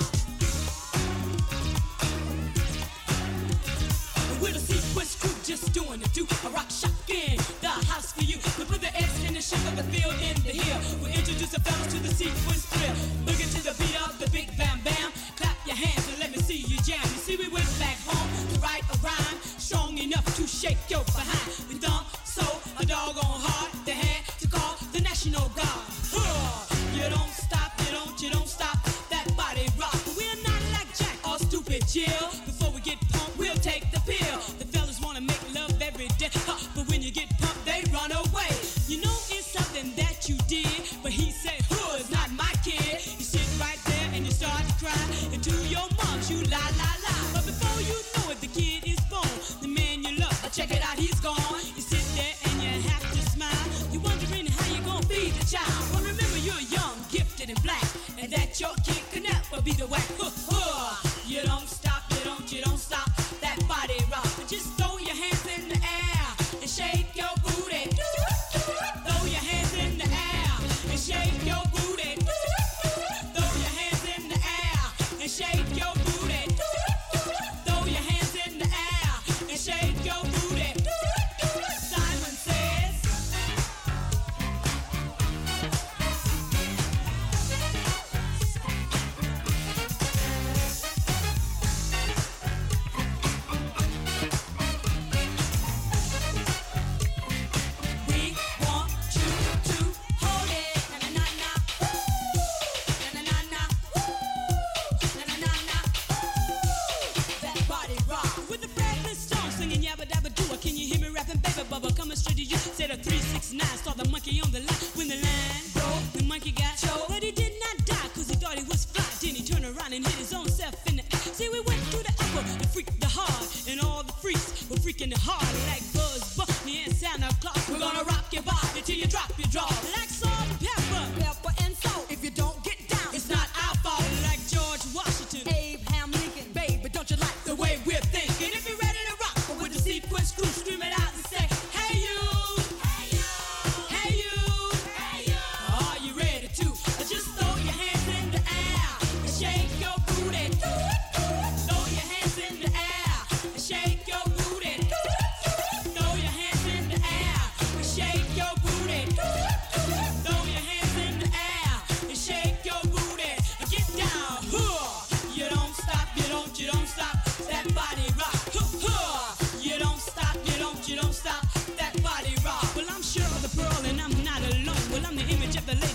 With a sequence crew just doing the do. A rock shock in the house for you. We put the S in the shape of the field in the hill. We introduce the fellas to the sequence thrill. Look into the beat of the big bam bam. Clap your hands and let me see you jam. You see, we went back home to write a rhyme strong enough to shake your behind. We thump so a doggone hard they had to call the National Guard. Huh. You don't stop, you don't, you don't stop. That body rock. We're not like Jack or stupid Jill. Before we get pumped, we'll take the pill. The fellas wanna make love every day, huh, but when you get pumped, they run away. You know it's something that you did, but he said, "Who is not my kid?" You sit right there and you start to cry, and to your moms you la la la. But before you know it, the kid is born. The man you love, check it out, he's gone. You sit there and you have to smile. You're wondering how you gonna feed the child. But remember, you're young, gifted and black, and that your kid can never be the whack. Huh, huh. You don't stop, you don't, you don't stop. That body rock. Just throw your hands in the air and shake your booty. Throw your hands in the air and shake your booty. Throw your hands in the air and shake your booty. Throw your hands in the air and shake your booty. Simon says.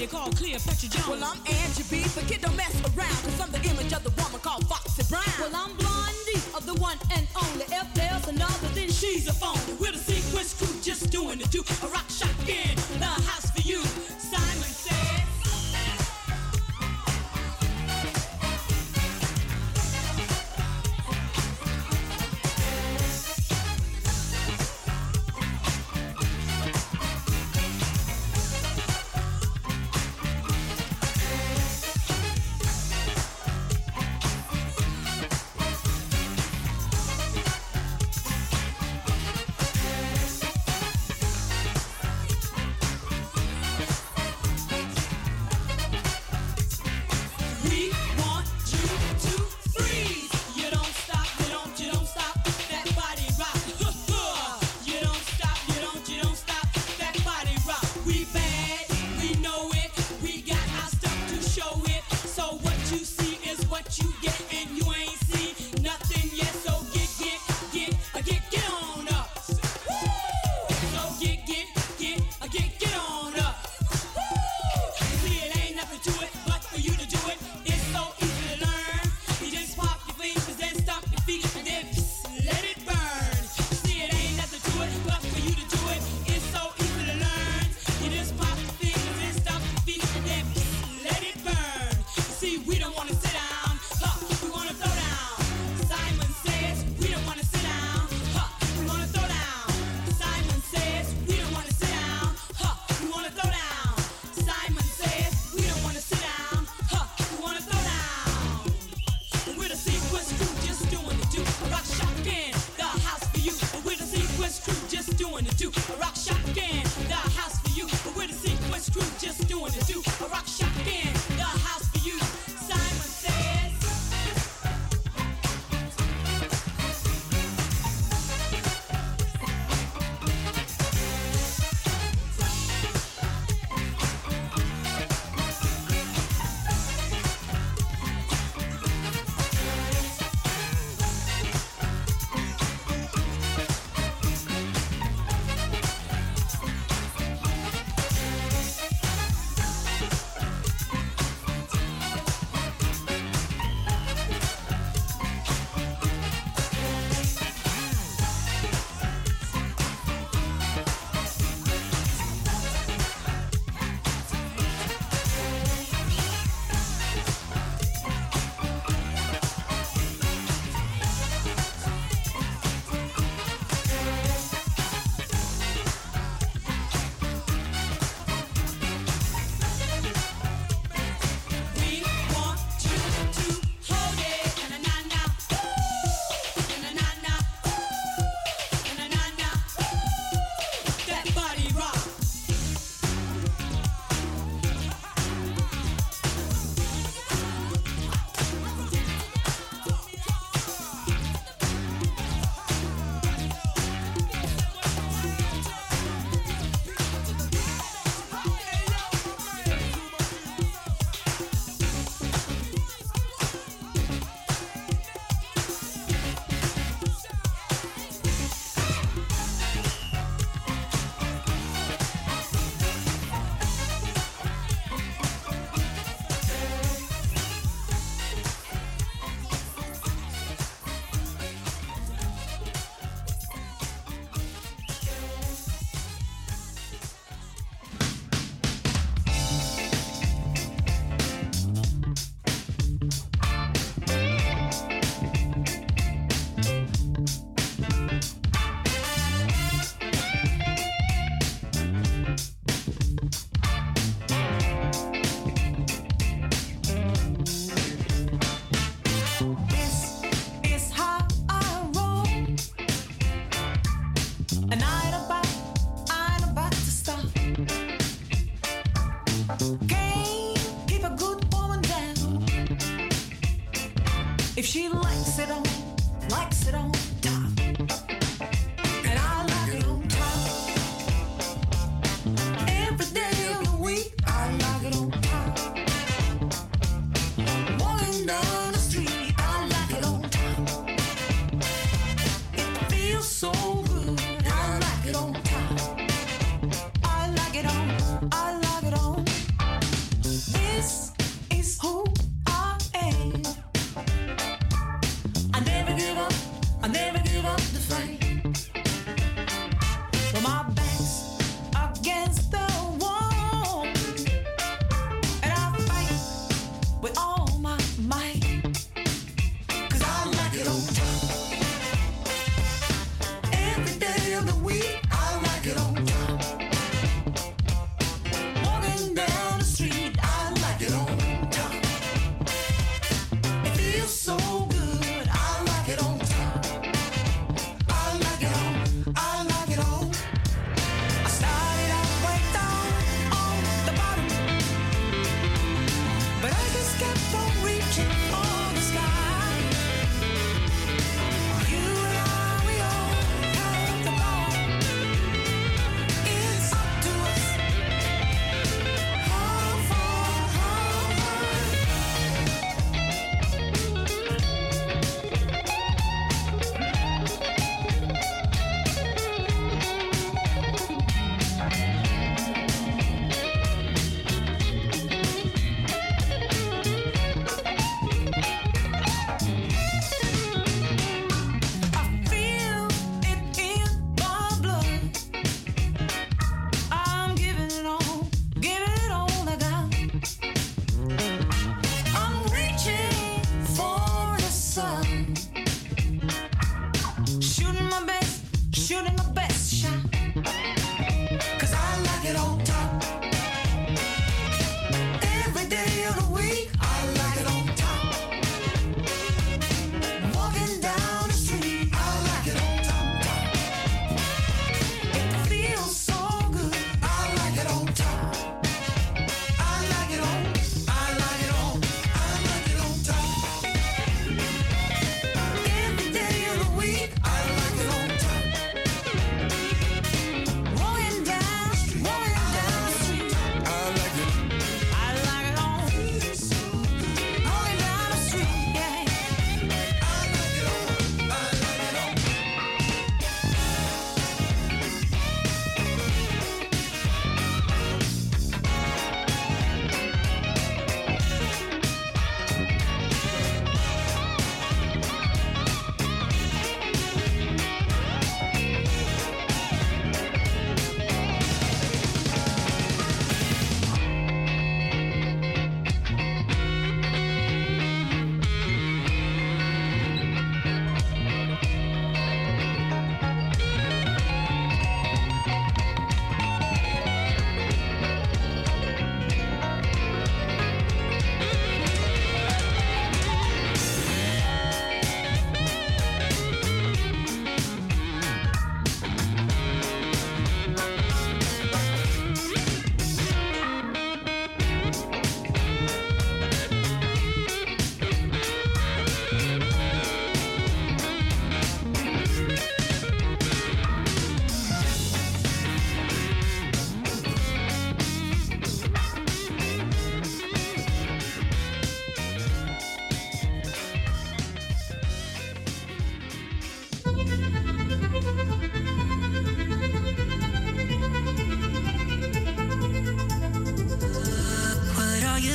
lady called Cleopatra Jones. Well, I'm Angie B, but kid don't mess around, cause I'm the image of the woman called Foxy Brown. Well, I'm Blondie of the one and only. If there's another, then she's a phony. We're the Sequence Crew, just doing it too. A rock shotgun, the house for you. Simon says. If she likes it on, likes it on top, and I like it on top. Every day of the week, I like it on top. Walking down the street, I like it on top. It feels so good, I like it on top. I like it on, I like it on.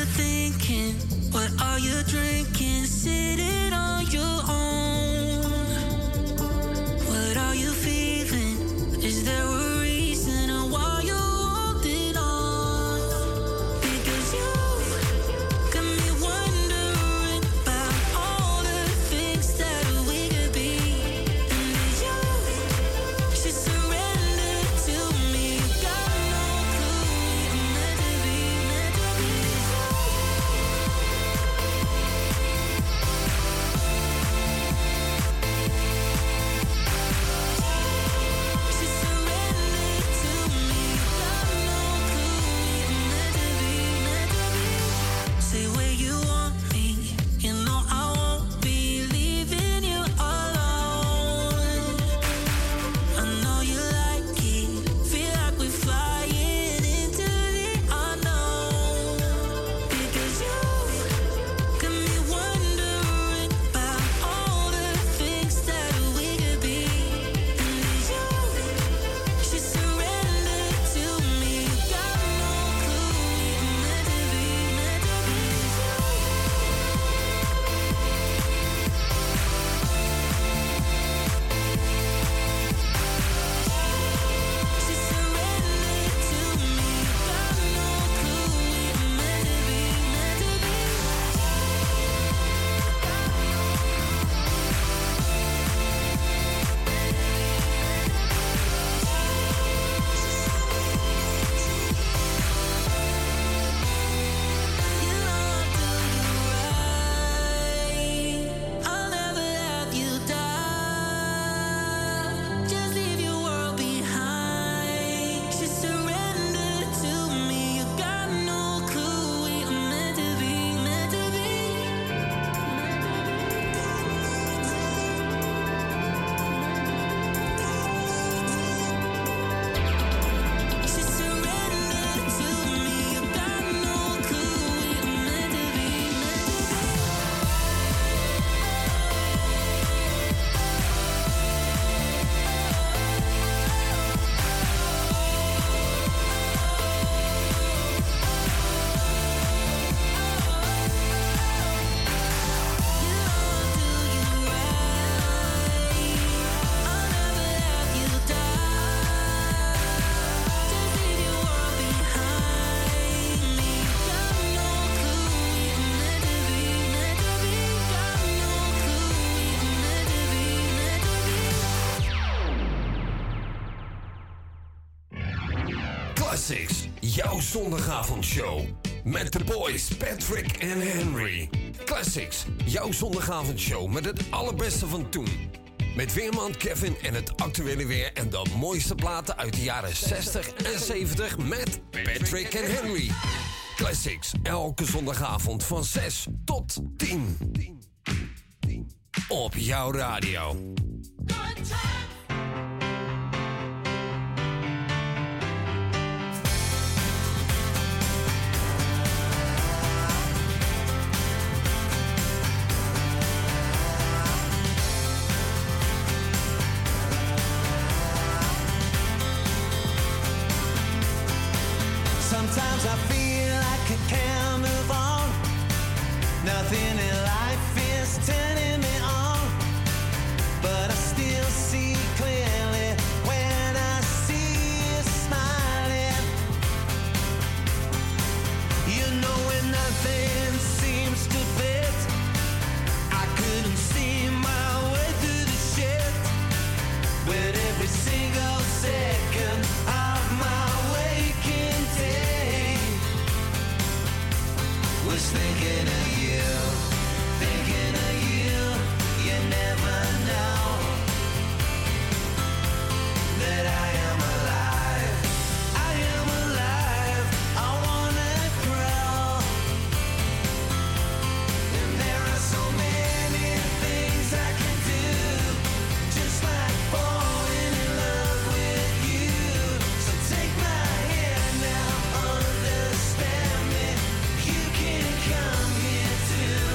you thinking? What are you drinking? Sitting on your own. What are you feeling? Is there a reason why you're holding on? Because you got me wondering about all the things that we could be. And that you should surrender to me. You got no clue we're meant to be, meant to be. Say where you want me, you know I won't be leaving you alone. I know you like it, feel like we're flying into the unknown. Because you got me wondering about all the things that we could be. And that you should surrender to me. You got no clue we're meant to be, meant to be. I'll never have you die. Just leave your world behind. Just surrender to me. You got no clue we're meant to be, meant to be. Just surrender to me. You got no clue we're meant to be, meant to be. Classics, jouw zondagavondshow. Met de boys Patrick en Henry. Classics, jouw zondagavondshow met het allerbeste van toen. Met weerman Kevin en het actuele weer en de mooiste platen uit de jaren zestig en zeventig met Patrick en Henry. Classics, elke zondagavond van zes tot tien. Op jouw radio. Sometimes I feel like I can't move on. Nothing in life is turning me on. But I still see clearly when I see you smiling. You know when nothing seems to fit, I couldn't see my way through the shit. With every single second of my waking day was thinking of you, thinking of you. You never know that I am alive. I am alive. I wanna grow. And there are so many things I can do, just like falling in love with you. So take my hand now, understand me. You can come here too.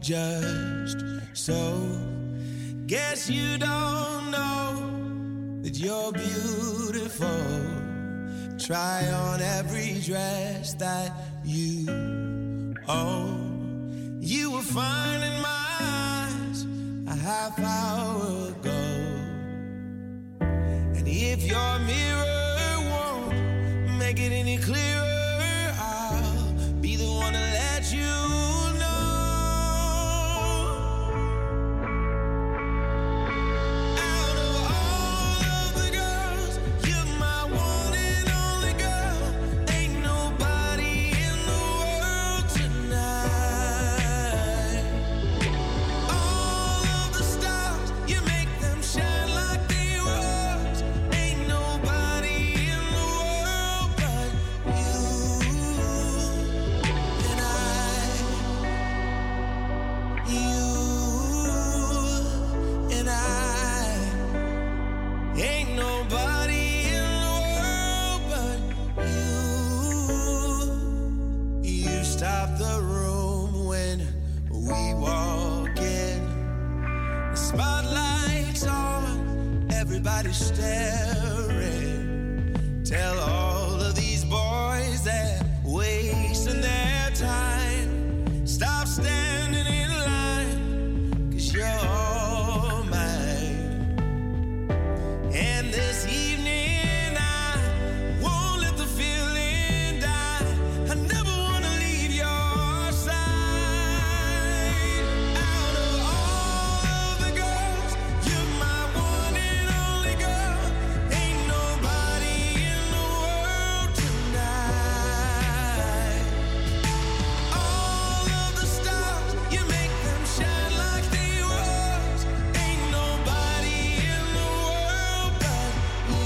judged. So, guess you don't know that you're beautiful. Try on every dress that you own. You were fine in my eyes a half hour ago. And if your mirror won't make it any clearer, I'll be the one to let you know. Out of all of the girls, you're my one and only girl. Ain't nobody in the world tonight. All of the stars, you make them shine like they was. Ain't nobody in the world but you and I. You and I. Ain't nobody in the world but you. You stop the room when we walk in. The spotlight's on, everybody's staring. Tell all of these boys that wasting their time. Stop standing in line, 'cause you're all mine. And this evening I won't let the feeling die. I never wanna leave your side. Out of all of the girls, you're my one and only girl. Ain't nobody in the world tonight. All of the stars, you make them shine like they was. Ain't nobody in the world but you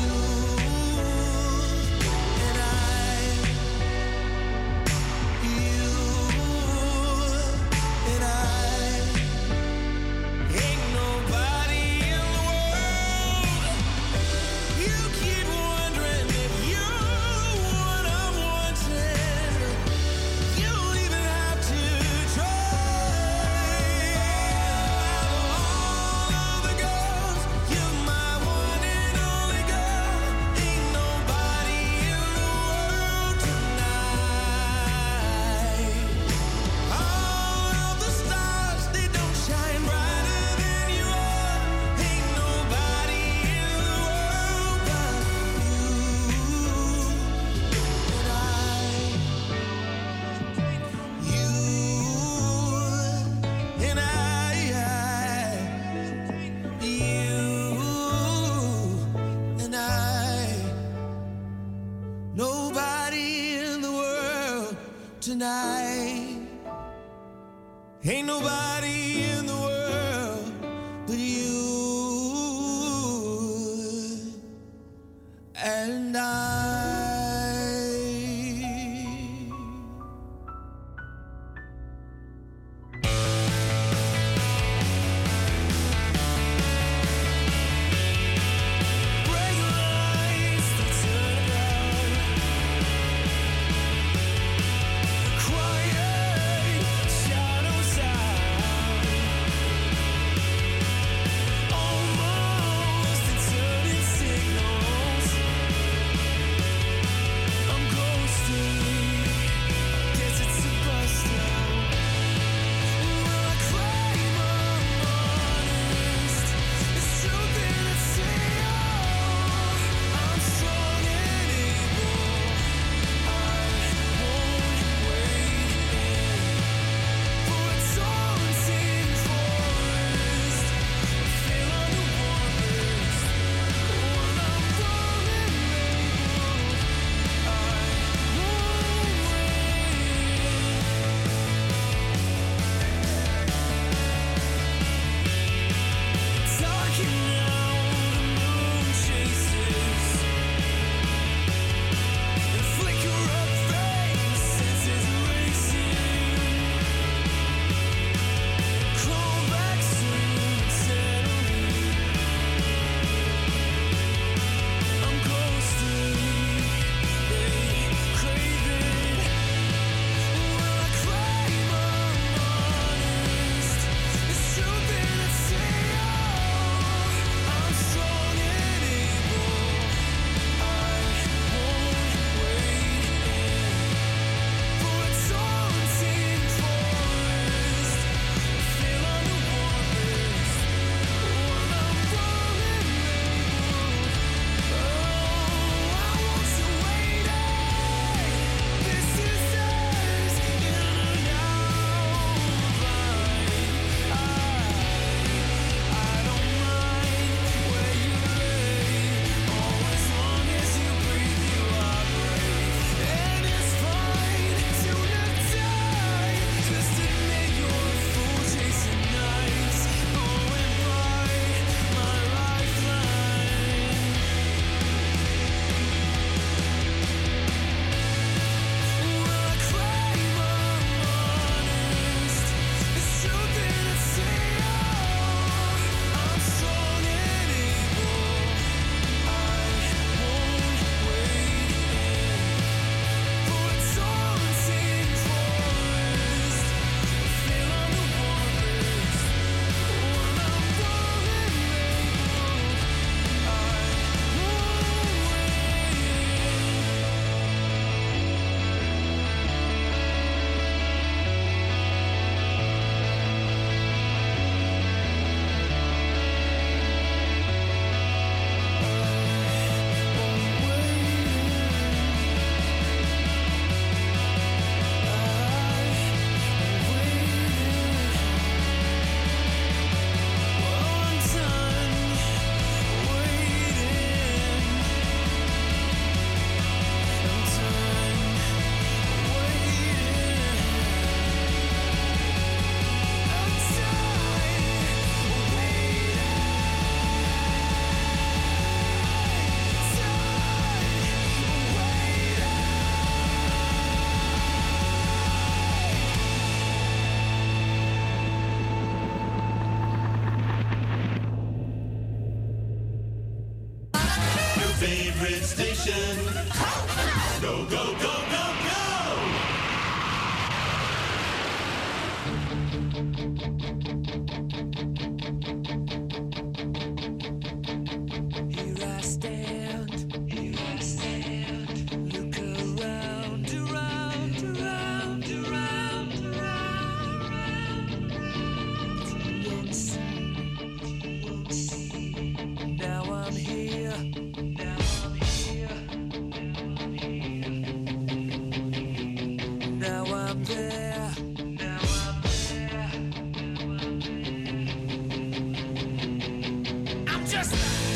and I. You and I. Ain't nobody in the world. You keep wondering if you're what I'm wanting. You don't even have to try. All of the girls, you're my one and only girl. Ain't nobody in the world tonight. All of the stars, they don't shine brighter than you are. Ain't nobody in the world but you and I. You and I. You and I. Nobody in the world tonight. Ain't nobody in the world but you and I. Break lights that turn around. Quiet shadows out. favorite station. Go, go, go, go, go! Here I stand, here I stand. Look around, around, around, around, around. You won't see, you won't see. Now I'm here, now I'm here, now I'm there, now I'm there. I'm just.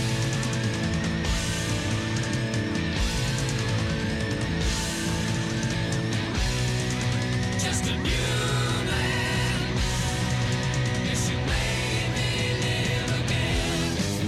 Just a new man. Yes, you made me live again.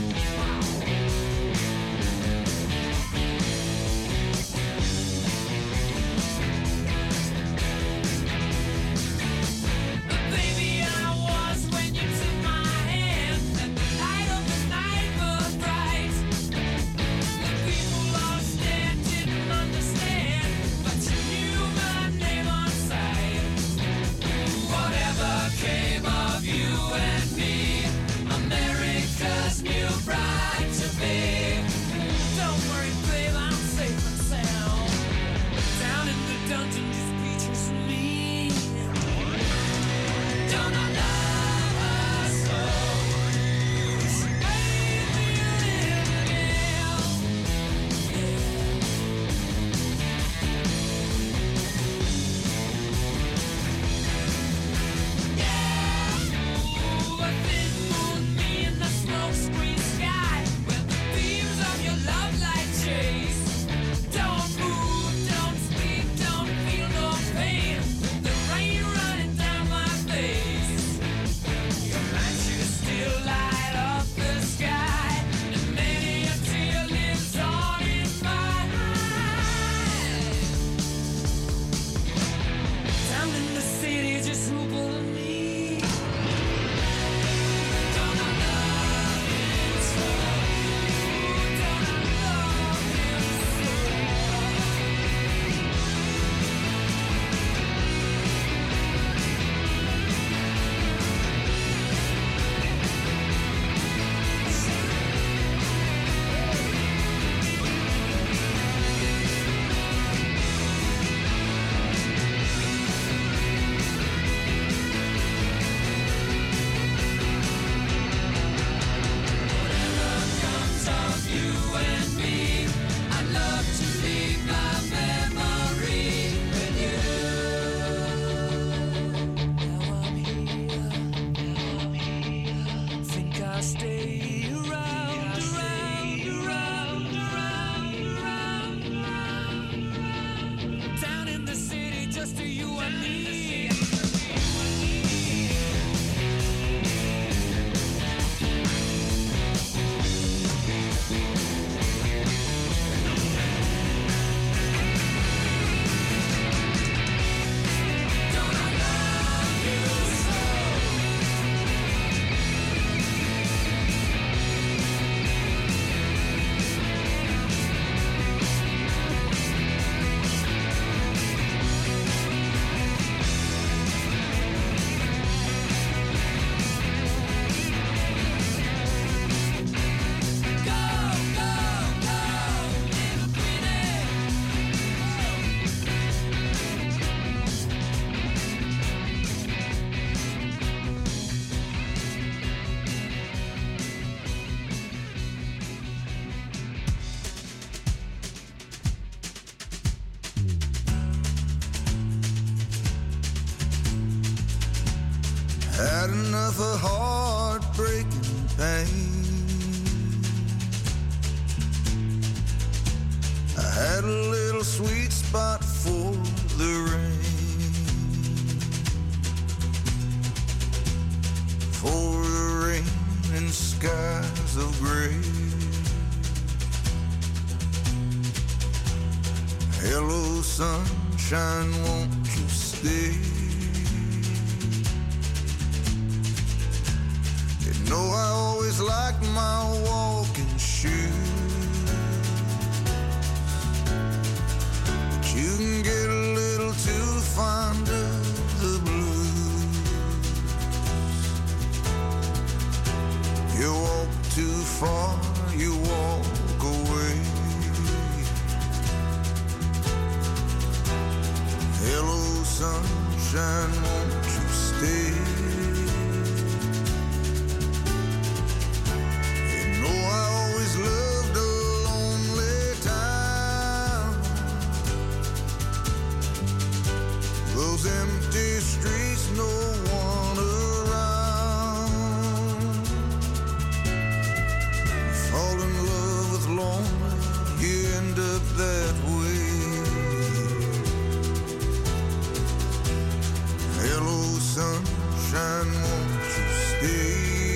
But baby, I was when you took my hand, and the light of the night was bright. The people lost there didn't understand, but you knew my name on sight. Whatever came of you and me, America's new bride to be. Don't worry, babe, I'm safe and sound. Down in the dungeon, just pictures of me. Don't I love her so? She made me live again. Ooh, a thin moon, me in the smoke screen sky, where the beams of your love light chase. Don't move, don't speak, don't feel no pain. The rain running down my face. Your light should still light up the sky, and many a tear lives on in my eyes. Down in the city, just who but me. Don't I love him so? Don't I love him so? Comes of you and me. I love to leave my memory with you. Now I'm here, now I'm here. Think I'll stay around, around, around, around, around, around. Down in the city, just to you and me. Don't I love you so? Had enough of heartbreaking pain. I had a little sweet spot for the rain, for the rain and skies of gray. Hello, sunshine, won't you stay? You know I always liked my walking shoes. you walk away. Hello, sunshine, won't you stay? You know I always loved a lonely town. Those empty streets, no one around. You fall in love with lonely, you end up that way. Hello, sunshine, won't you stay?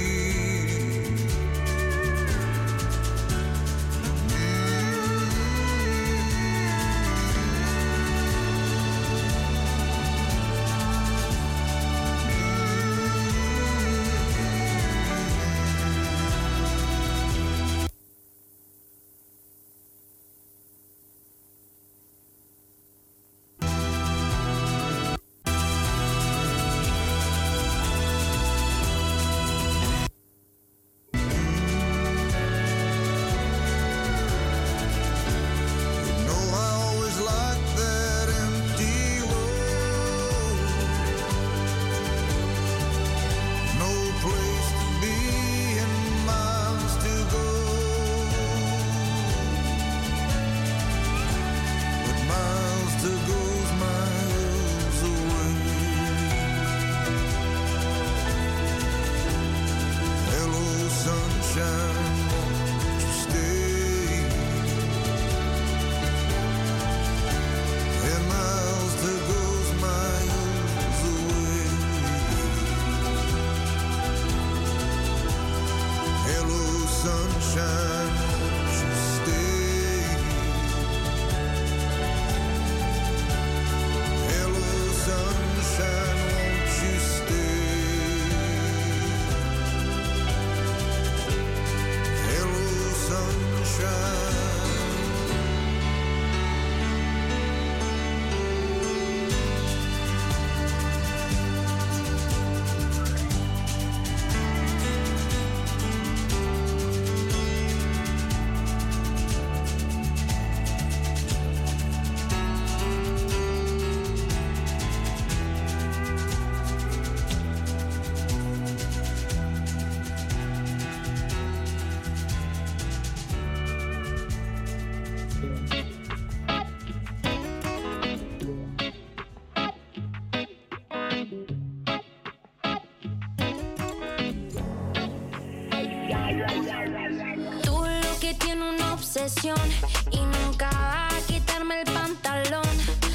Tú lo que tiene una obsesión y nunca va a quitarme el pantalón.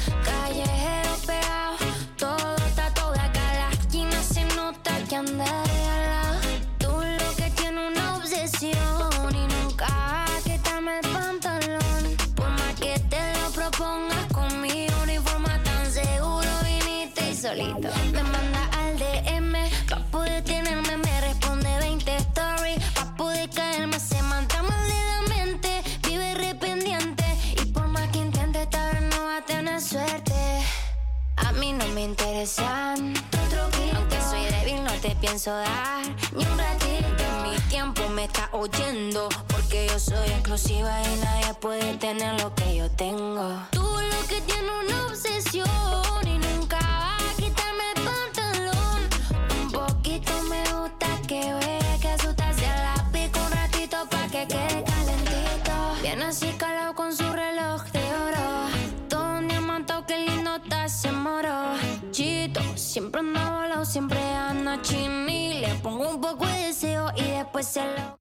Callejero pegado, todo tatuado de acá a la esquina se nota que anda de ala. Tú lo que tiene una obsesión y nunca va a quitarme el pantalón. Por más que te lo propongas con mi uniforme tan seguro viniste y solito me manda al D M pa' poder tenerme, me responde veinte stories pa' poder caerme, se manda mal de la mente, vive rependiente y por más que intente esta vez no va a tener suerte. A mí no me interesan otro grito, aunque soy débil no te pienso dar ni un ratito. Mi tiempo me está oyendo porque yo soy exclusiva y nadie puede tener lo que yo tengo. Tú lo que tienes una obsesión y nunca va a quitarme el pantalón. Un poquito me gusta que vea que asustarse a la pico un ratito pa' que quede calentito. Viene así calado con su reloj de oro, todo un diamantado, que lindo está ese moro. Chito, siempre anda volado, siempre anda chini. Le pongo un poco de deseo y después se lo...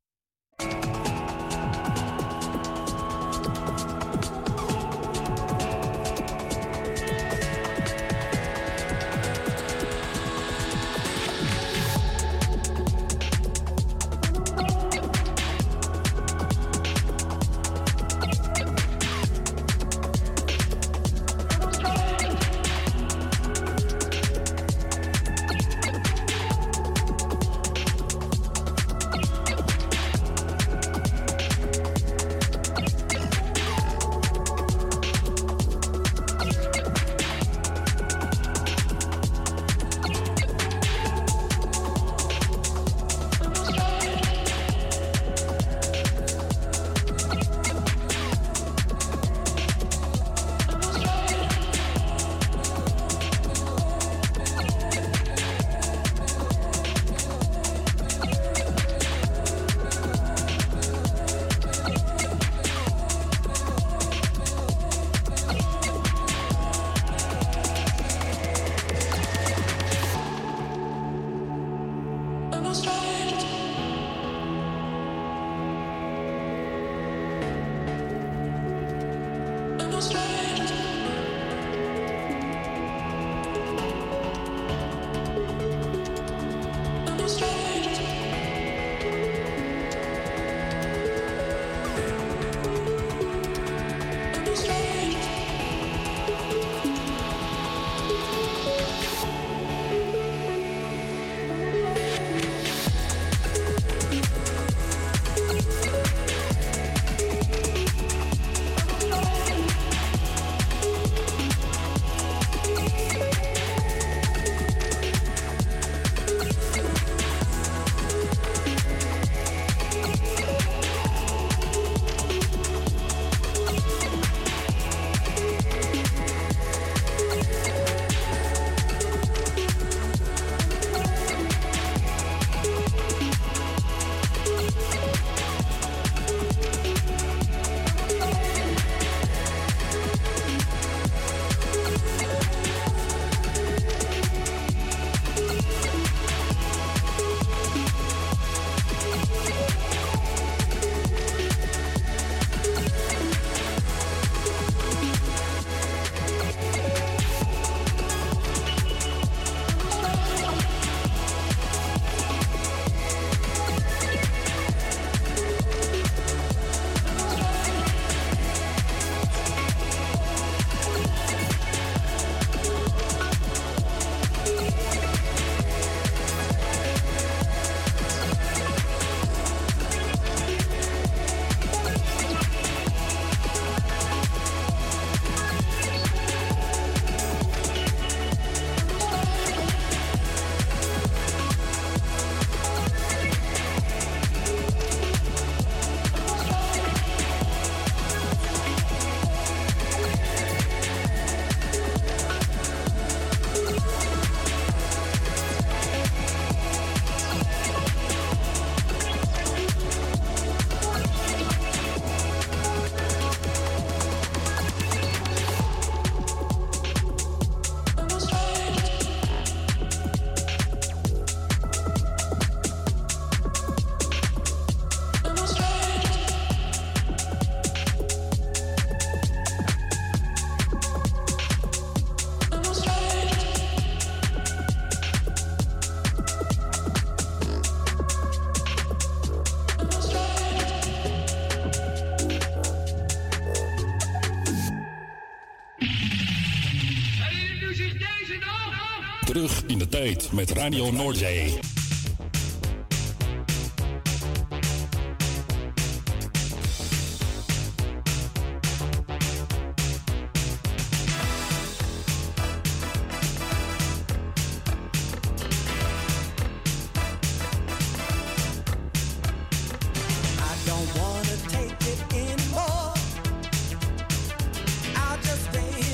terug in de tijd met Radio Noordzee.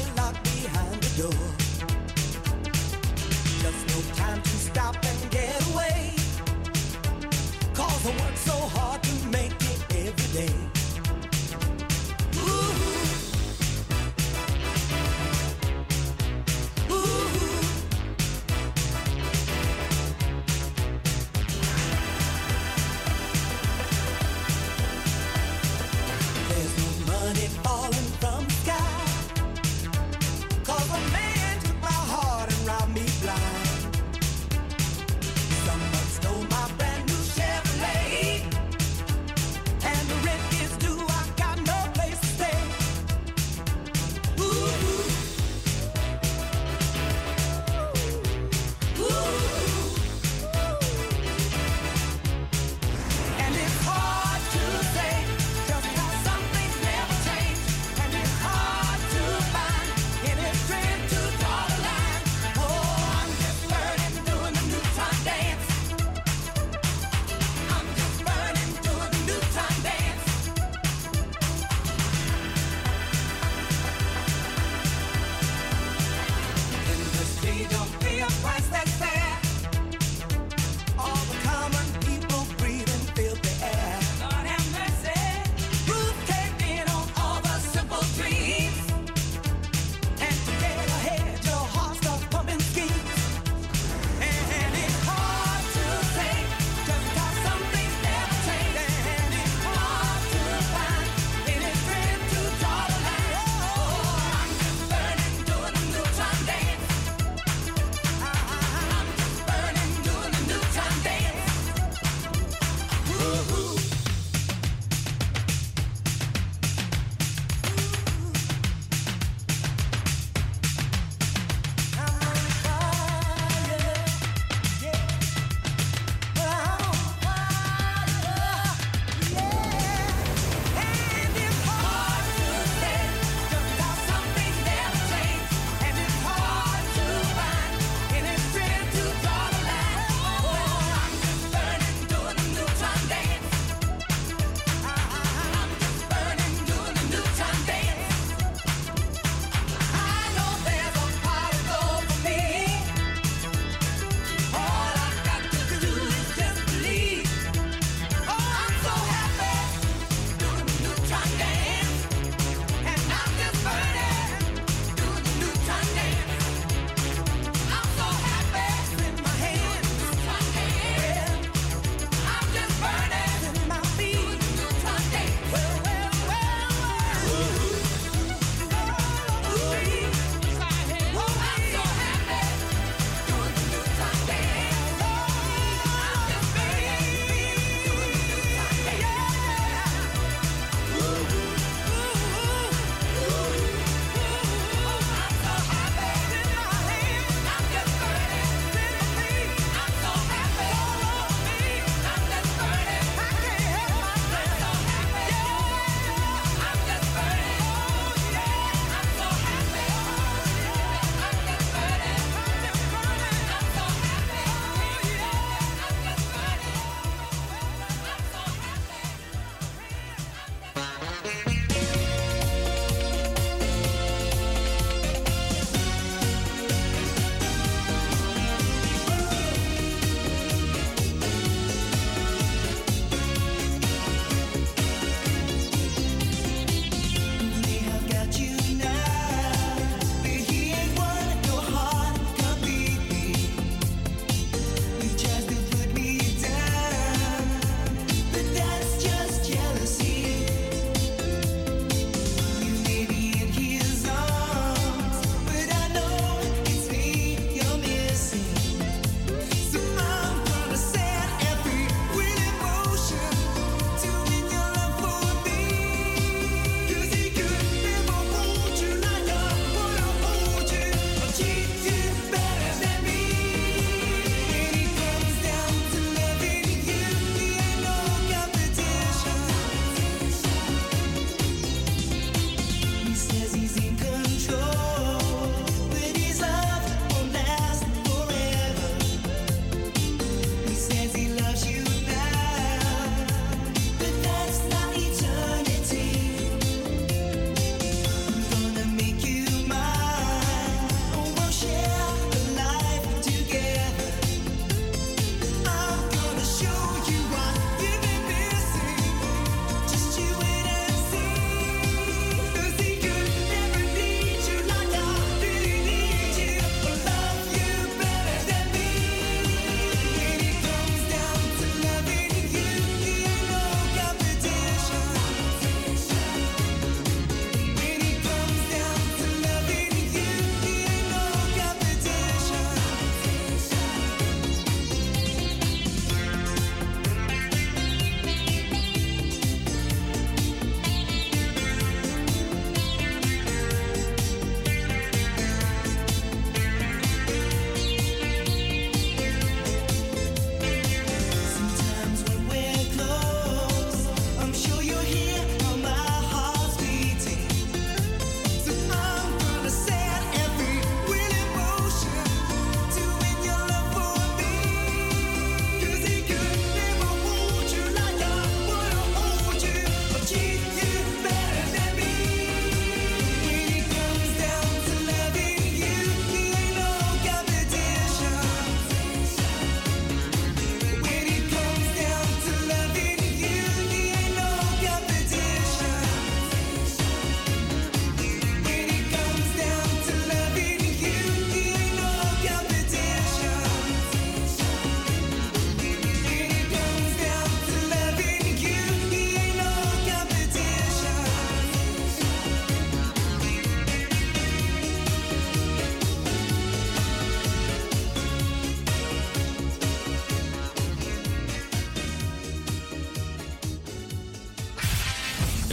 Just no time to stop and get away.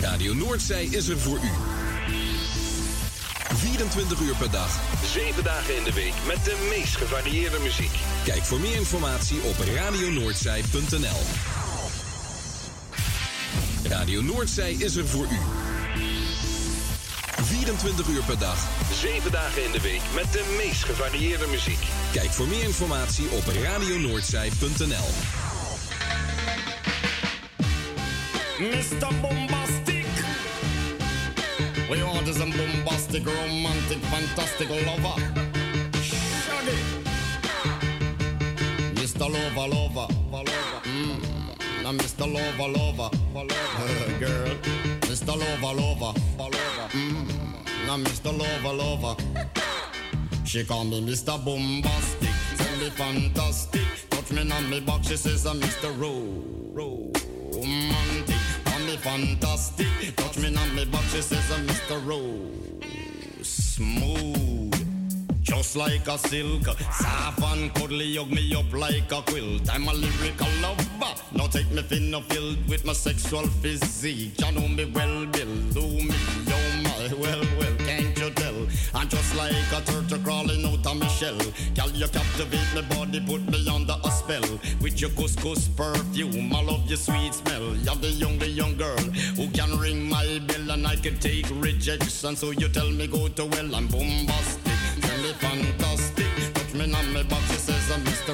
Radio Noordzij is er voor u. vierentwintig uur per dag, zeven dagen in de week met de meest gevarieerde muziek. Kijk voor meer informatie op radio noordzij punt n l. Radio Noordzij is er voor u. vierentwintig uur per dag, zeven dagen in de week met de meest gevarieerde muziek. Kijk voor meer informatie op radio noordzij punt n l. mister Bombastic. We want is a bombastic, romantic, fantastic lover. Shaggy. mister Lover, lover, lover. Mm. Now mister Lover, lover, lover. Girl. mister Lover, lover, lover. Mm. Now mister Lover, lover. She call me mister Bombastic. Tell me fantastic. Touch me on me back, she says I'm mister Ro. Romantic. Me fantastic, touch me on me back, she says I'm mister Rose. Smooth, just like a silk, soft and cuddly, hug me up like a quilt. I'm a lyrical lover, now take me thin filled with my sexual physique. You know me well, Bill, do me, oh my, well, well, can't you tell? I'm just like a turtle crawling out of my shell. Girl, you captivate my body, put me under a spell. With your couscous perfume, I love your sweet smell. You're the young, the young girl who can ring my bell, and I can take rejection. So you tell me go to well, I'm bombastic, tell me fantastic. Touch me on my back, she says I'm mister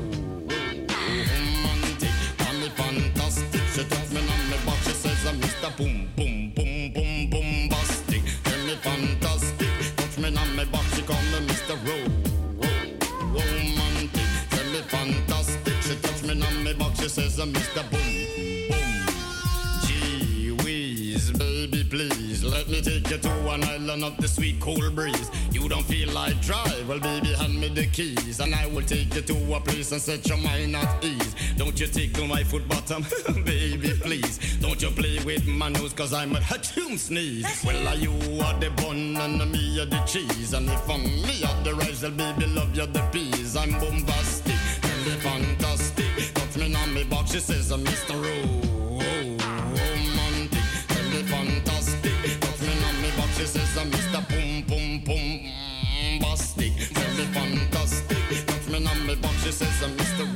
Romantic. Tell me fantastic, she touch me on my back, she says I'm mister Boom, boom, boom, boom, bombastic. Tell me fantastic. Me on my back, she call me mister Ro, Ro, Romantic. Tell me fantastic. She touch me on my back, she says I'm mister Boom, boom. Gee whiz, baby, please let me take you to an island of the sweet cool breeze. You don't feel like drive? Well, baby, hand me the keys, and I will take you to a place and set your mind at ease. Don't you tickle my foot bottom, baby, please. Don't you play with my nose, cause I'm a hatchoon sneeze. Well, are you are the bun and me are the cheese. And if I'm me are the rice, well, baby, love you the peas. I'm bombastic, tell me fantastic. Touch me on me box, she says I'm mister Romantic. Tell me fantastic. Touch me on me box, she says I'm mister Boom, boom, boom. Bastic, tell me fantastic. Touch me on me box, she says I'm mister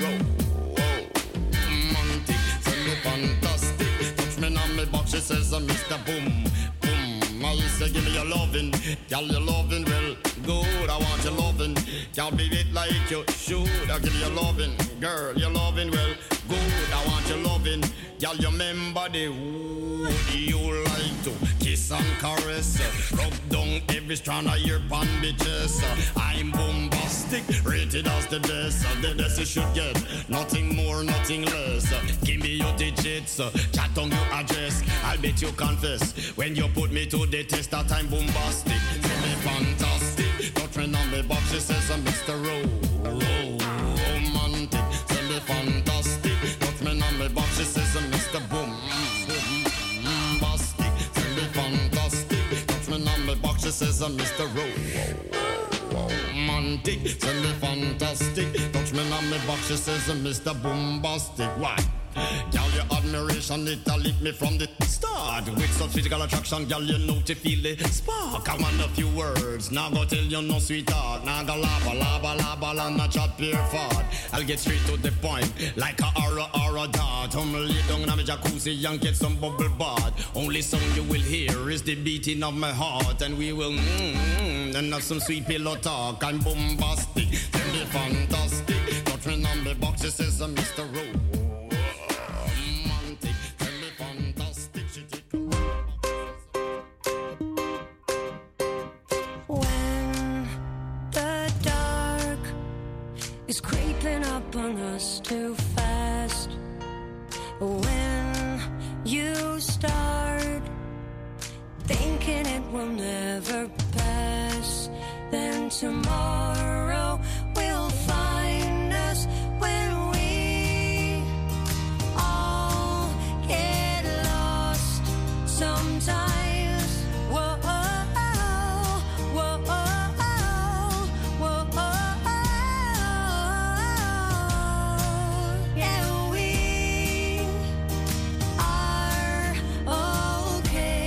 Romantic. Tell me fantastic. Touch me on me box, she says I'm mister Boom, boom. I say give me your lovin', girl, your lovin' well good. I want your lovin', can't be it like you should. I give you your lovin', girl, your lovin' well good. I want your lovin', girl, you remember the wood you like to kiss and caress, rub down every strand of your pan bitches. I'm bombastic, rated as the best. The best you should get, nothing more, nothing less. Give me your digits, chat on your address. I'll bet you confess when you put me to the test that I'm bombastic. Tell me fantastic, touch me on me box, she says I'm mister Ro, Ro, Romantic. Tell me fantastic, touch me on me box, she says I'm mister Boom, Bombastic. Tell me fantastic, touch me on me box, she says I'm mister Ro, Romantic. Tell me fantastic, touch me on me box, she says I'm mister Bombastic. Why? Girl, your admiration, it a lit me from the start. With such physical attraction, girl, you know to feel the spark. I want a few words, now go tell you no sweetheart. Now go lava, lava, lava, la, not chat pure fart. I'll get straight to the point, like a aura, aura dart. I'm lay down in my jacuzzi and get some bubble bath. Only song you will hear is the beating of my heart. And we will mmm, and have some sweet pillow talk. I'm bombastic, tell me fantastic. Touch me on the box, it says I'm mister Ro. Is creeping up on us too fast. When you start thinking it will never pass, then tomorrow will find us when we all get lost sometimes. Whoa, whoa, whoa, whoa. Yeah, we are okay.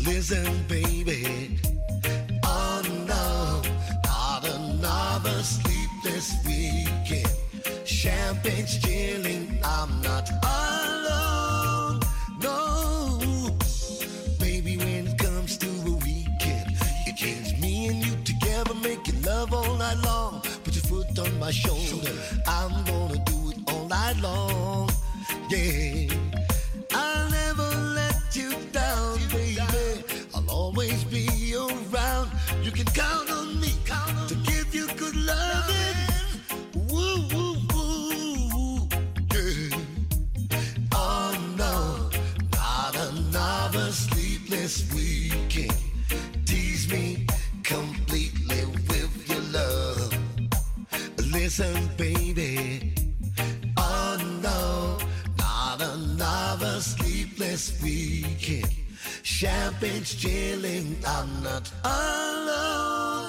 Listen, baby. Oh no, not another sleepless weekend. Champagne's chilling, I'm not alone. No, baby, when it comes to a weekend, it takes me and you together, making love all night long. Put your foot on my shoulder, I'm gonna do it all night long. Yeah, I'll never let you down, baby. I'll always be around. You can count on me to give you good loving. Woo, woo, woo, yeah. Oh no, not another sleepless weekend. Tease me completely with your love. Listen, baby. Oh no, not another sleepless weekend. Champagne's chilling, I'm not alone.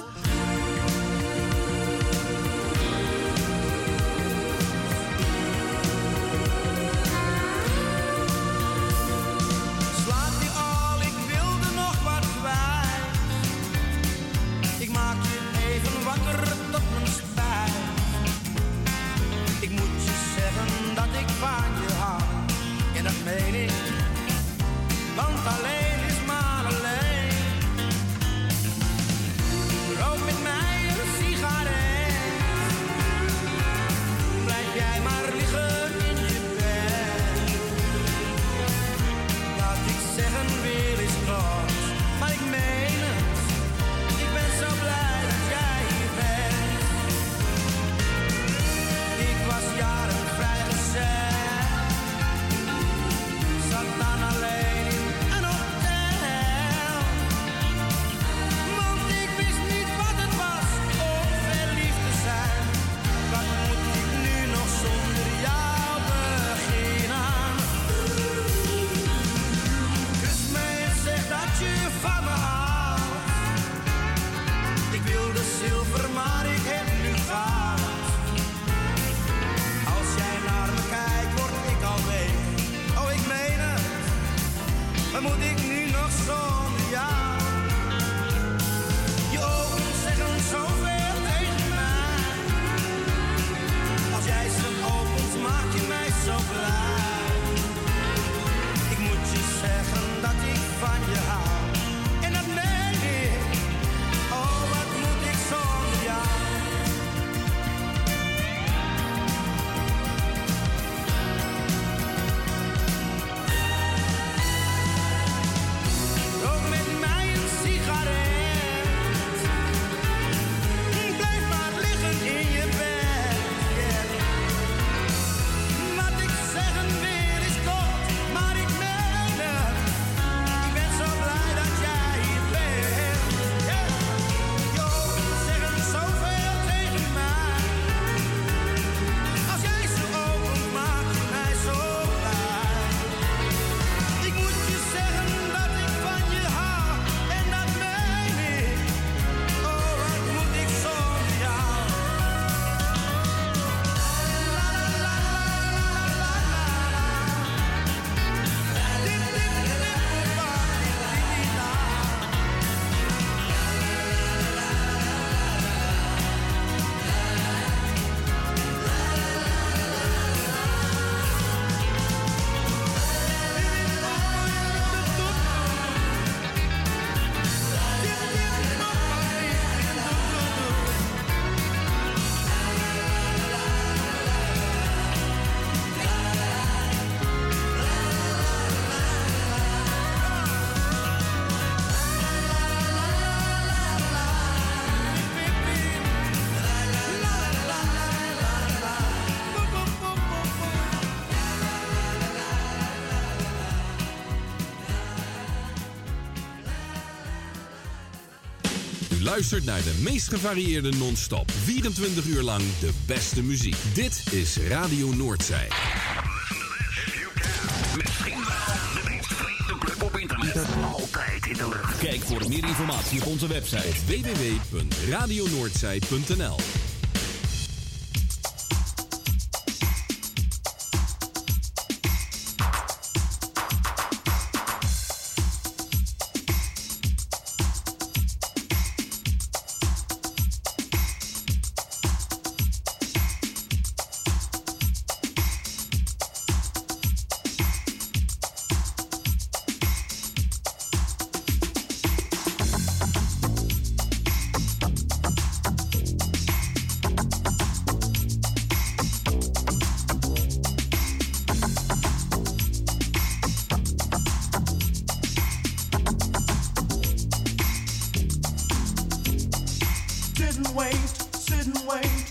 Slaap je al, ik wilde nog wat kwijt. Ik maak je even wakker tot mijn spijt. Ik moet je zeggen dat ik van je hou. En dat meen ik, want alleen is maar alleen. Rook met mij een sigaret. Blijf jij maar liggen in je bed. Laat ik zeggen, weer is kort, maar ik meen het. Ik ben zo blij dat jij hier bent. Ik was jaren vrijgezel. Zat dan alleen in een hotel. Want ik wist niet wat het was om verliefd te zijn. Wat moet ik nu nog zonder jou beginnen? Kus me en zeg dat je van me houdt. Ik wilde zilver, maar ik heb nu goud. Als jij naar me kijkt, word ik al week. Oh, ik meen het. Wat moet ik nu nog zonder jou? Je ogen zeggen zoveel tegen mij. Als jij ze opent, maak je mij zo blij. Ik moet je zeggen dat ik van je hou. En dat meen ik. Oh, wat moet ik zonder jou? Rook met mij een sigaret. Blijf maar liggen in je bed. Yeah. Wat ik zeggen wil is kort, maar ik meen het. Ik ben zo blij dat jij hier bent. Yeah. Je ogen zeggen zoveel tegen mij. Als jij ze opent, maak je mij zo blij. Ik moet je zeggen dat ik van je hou, en dat meen ik. Oh, wat moet ik zonder jou? La la la la la la la. Dit dit dit dit pa dit dit la. U luistert naar de meest gevarieerde non-stop. vierentwintig uur lang de beste muziek. Dit is Radio Noordzij. Misschien wel de meest vreemde club op internet. Altijd in de lucht. Kijk voor meer informatie op onze website w w w punt radio noordzij punt n l. and wait, sit and wait.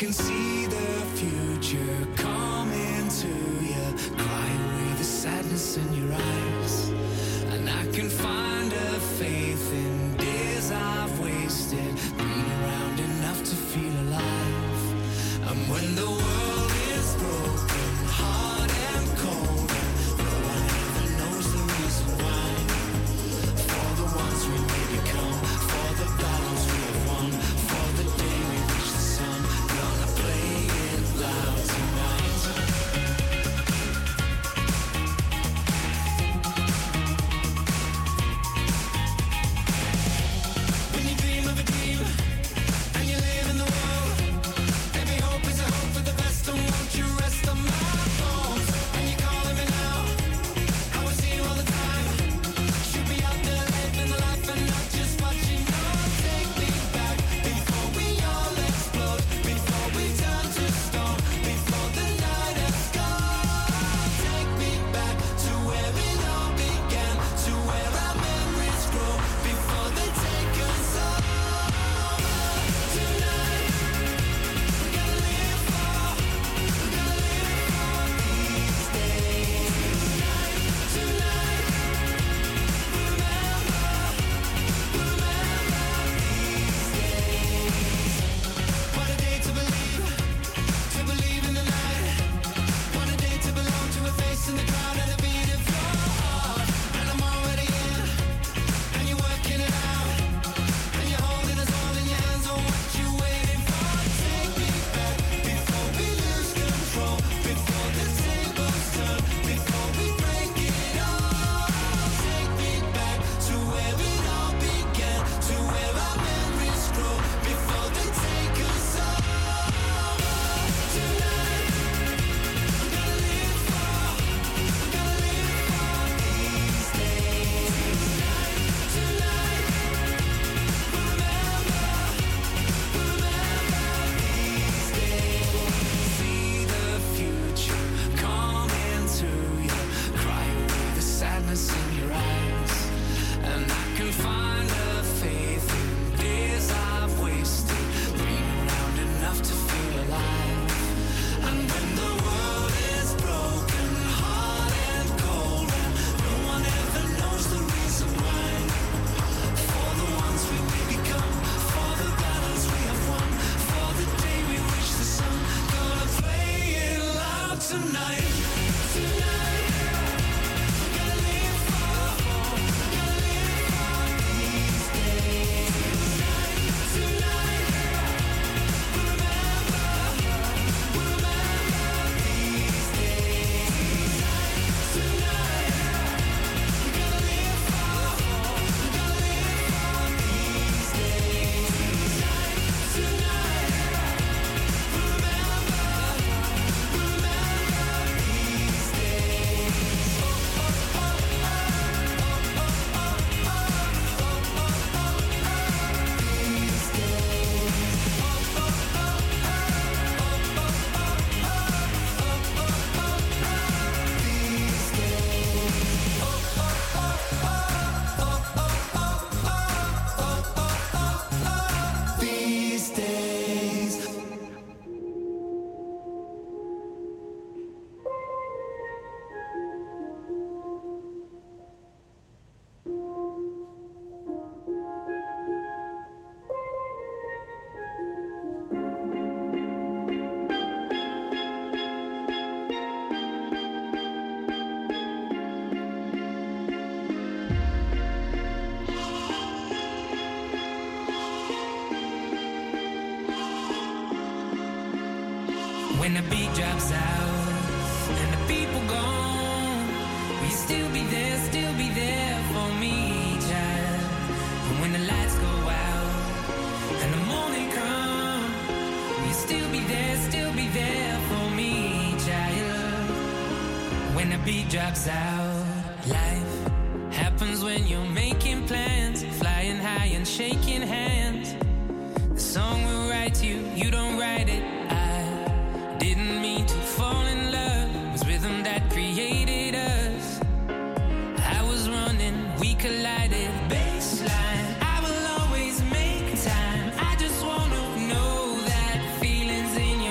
can see the future coming to you. Cry away the sadness in your eyes. And I can find a faith in days I've wasted, been around enough to feel alive. And when the world is broken, hard and cold, and no one ever knows the reason why. For the ones we may become, for the battles we have won, for the day we reach the sun, gonna play it loud tonight. When you dream of a dream and you live in the world, every hope is a hope for the best, and won't you rest on my bones? And you're calling me now, I will see you all the time. Should be out there living the life and not just watching. No, take me back before we all explode, before we turn to stone, before the night has gone. Take me back to where it all began, to where our memories grow, before they take us all. Tonight, we gotta live for, we gotta live for these days. Tonight, tonight, remember, remember these days. What a day to believe, to believe in the night. What a day to belong to a face in the crowd and a beat of your heart. And I'm already in, and you're working it out, and you're holding us all in your hands. Oh, what you waiting for? Take me back before we lose control, before the tables turn, before we break it all. Take me back to where it all began, to where our memories grow, before they take us all. Tonight, we gotta live for, we gotta live for these days. Tonight, remember, remember these days. See the future coming to you. Cry away the sadness in your eyes. And I can find a faith in days I've wasted, been around enough to feel alive. And when the world is broken, hard and cold, and no one ever knows the reason why. For the ones we may become, for the battles we have won, for the day we reach the sun, gonna play it loud tonight. Tonight, we gotta live for, we gotta live for these days. Tonight, remember, remember these days. Tonight, we gotta live for, we gotta live for these days. Tonight, remember, remember these days. These days. When the beat drops out and the people gone, will you still be there, still be there for me, child? And when the lights go out and the morning comes, will you still be there, still be there for me, child? When the beat drops out, life happens when you're making plans, flying high and shaking hands. The song will write you, you don't write it. I didn't mean to fall in love. It was rhythm that created us. I was running, we collided. Baseline, I will always make time. I just wanna know that feelings in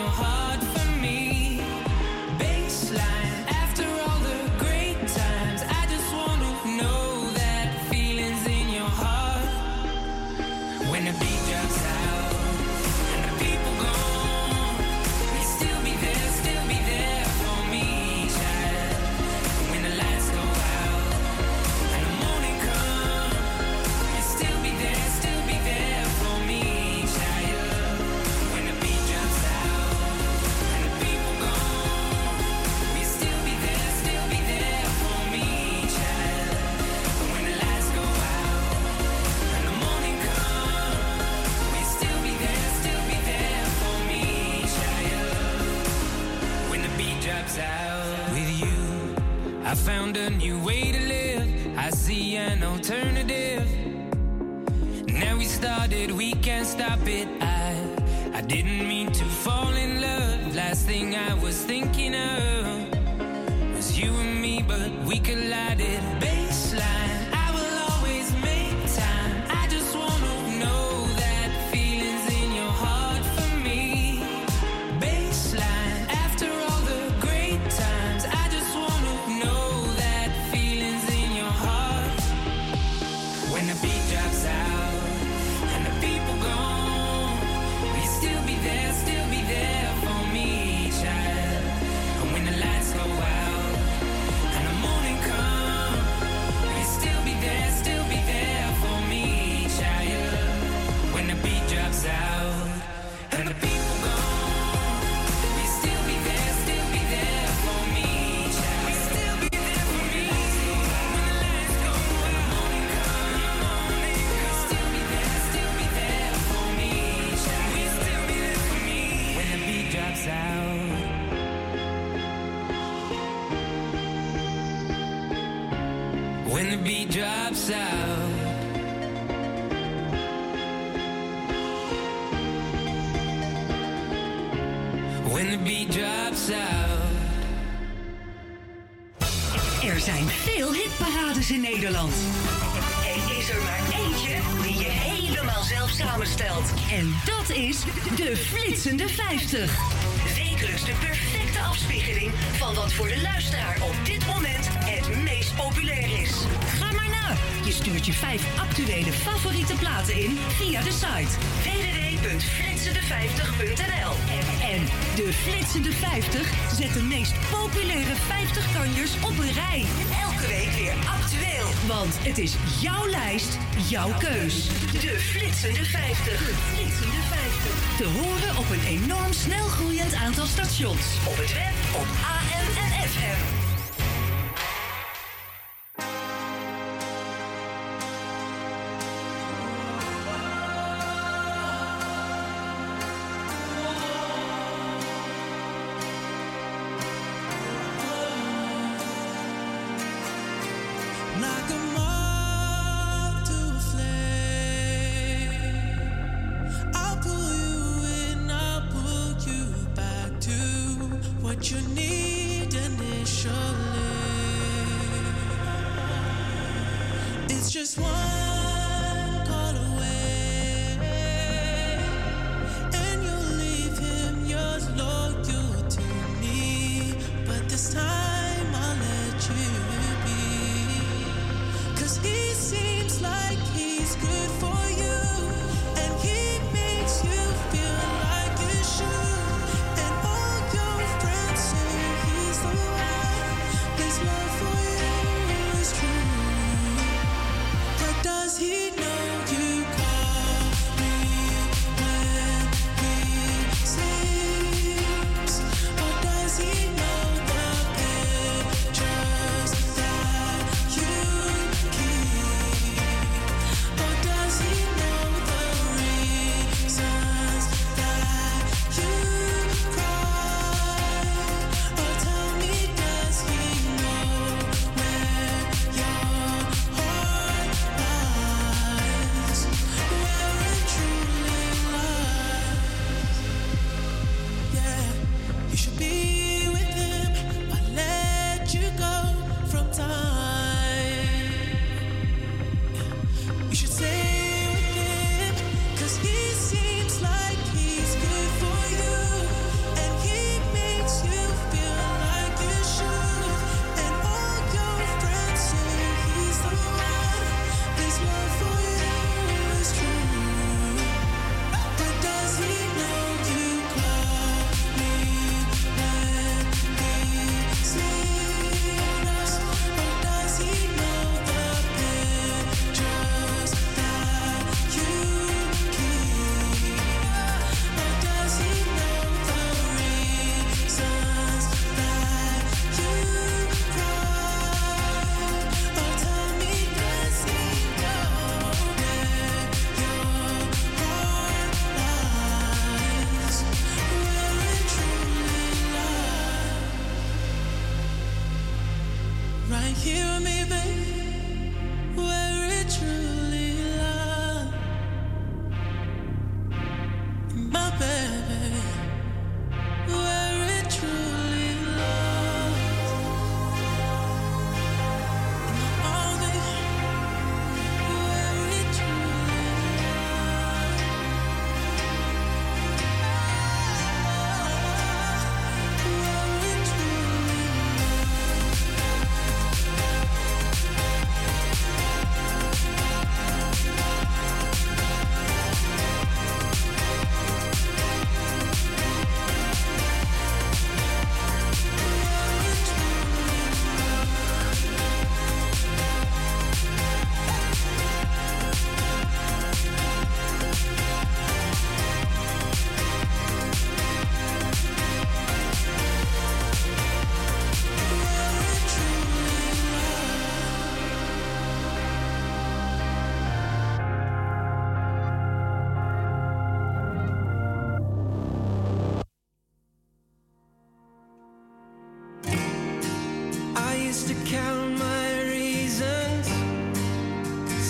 easy an alternative. Now we started, we can't stop it. I, I didn't mean to fall in love. Last thing I was thinking of was you and me, but we collided. Baseline, I will always make time. I just wanna know that feelings in your heart for me. Baseline, after all the great times, I just wanna know that feelings in your heart. When the beat drops out and the people gone, will you still be there, still be there for me, child? And when the lights go out and the morning comes, will you still be there, still be there for me, child? When the beat drops out and the people gone, will you still be there, still be there for me, child? Will you still be there for me? When the lights go and the morning comes, will you still be there, still be there for me, child? Will you still be there for me? When the beat drops out. When the beat drops out. When the beat drops out. Er zijn veel hitparades in Nederland. Er is er maar eentje die je helemaal zelf samenstelt. En dat is de Flitsende vijftig. Wekelijks de perfecte afspiegeling van wat voor de luisteraar op dit moment het meest populair is. Ga maar na. Je stuurt je vijf actuele favoriete platen in via de site w w w punt flitsende vijftig punt n l. En de Flitsende vijftig zet de meest populaire vijftig kanjers op een rij. Elke week weer actueel. Want het is jouw lijst, jouw keus. De Flitsende vijftig. De Flitsende vijftig. Te horen op een enorm snel groeiend aantal stations. Op het web, op A M en F M. Like a moth to a flame, I'll pull you in, I'll pull you back to what you need initially. It's just one call away, and you'll leave him yours loyal to me. But this time I'll let you be. Cause he seems like he's good for you, and he makes you feel like you should. And all your friends say he's the one. His love for you is true. But does he know you call me when he sleeps? Or does he know the pictures that you keep? Or does he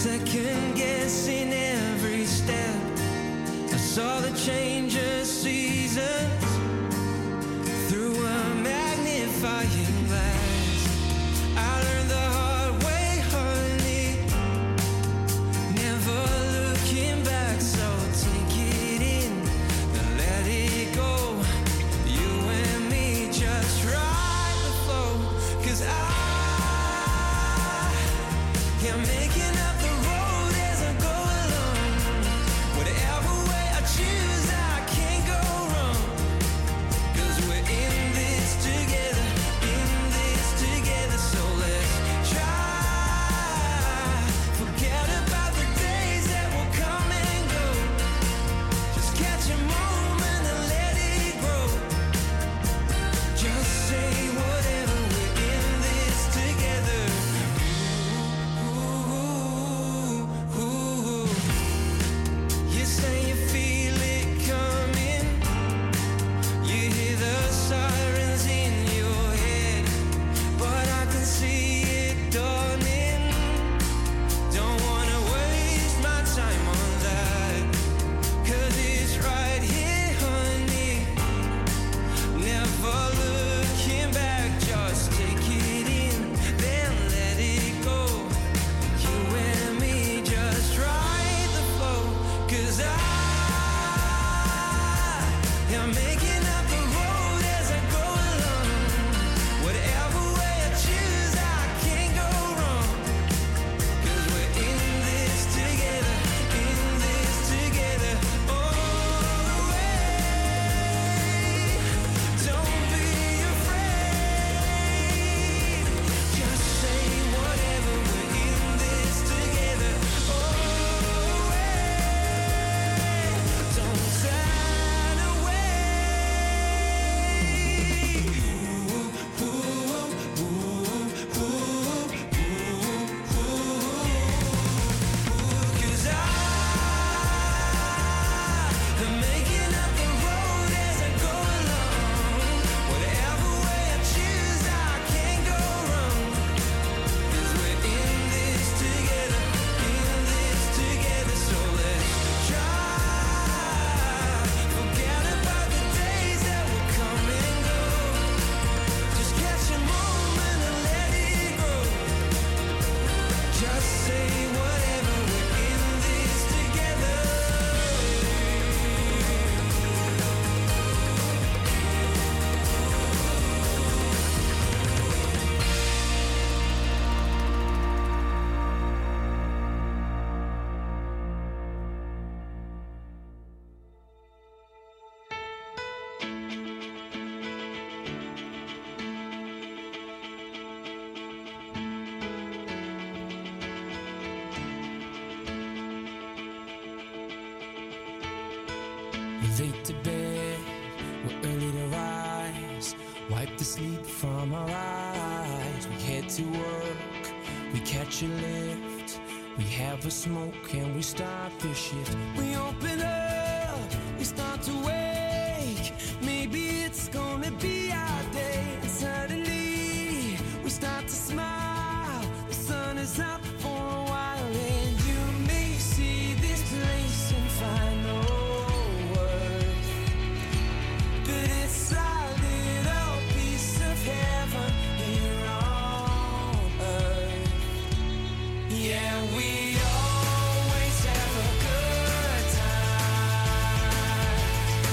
second guessing every step. I saw the change of seasons through a magnifying glass. I learned the hard way, honey, never looking back. So take it in and let it go. You and me just ride the flow, 'cause I am making up the road as I go along. Whatever way I choose, I can't go wrong. 'Cause we're in this together, in this together. So let's try. Forget about the days that will come and go. Just catch a moment and let it grow. Just say whatever, we're in this together. You say you feel it coming. You hear the sirens in your head, but I can see it dawning. Don't wanna waste my time on that, 'cause it's right here, honey. Never looking back, just take it in, then let it go. You and me just ride the flow, 'cause I am making up the road as I go along. Whatever way I choose, I can't go wrong. 'Cause we're in this together, in this together, all the way. Don't be afraid, just say whatever, we're in this together, all the way. Don't turn away. Ooh, ooh, ooh, ooh, ooh, ooh, 'cause I am making up the road as I go along. Whatever way I choose, I can't go wrong. 'Cause we're in this together, in this together. So let's try. Forget about the days that will come and go. Just catch a moment and let it grow. Just say whatever, we're in this together. We're late to bed, we're early to rise. Wipe the sleep from our eyes. We head to work, we catch a lift. We have a smoke and we start the shift. We open up, we start to wake. Maybe it's gonna be our day. And suddenly, we start to smile. The sun is up for a while. And you may see this place and find no worth, but it's a little piece of heaven here on earth. Yeah, we always have a good time.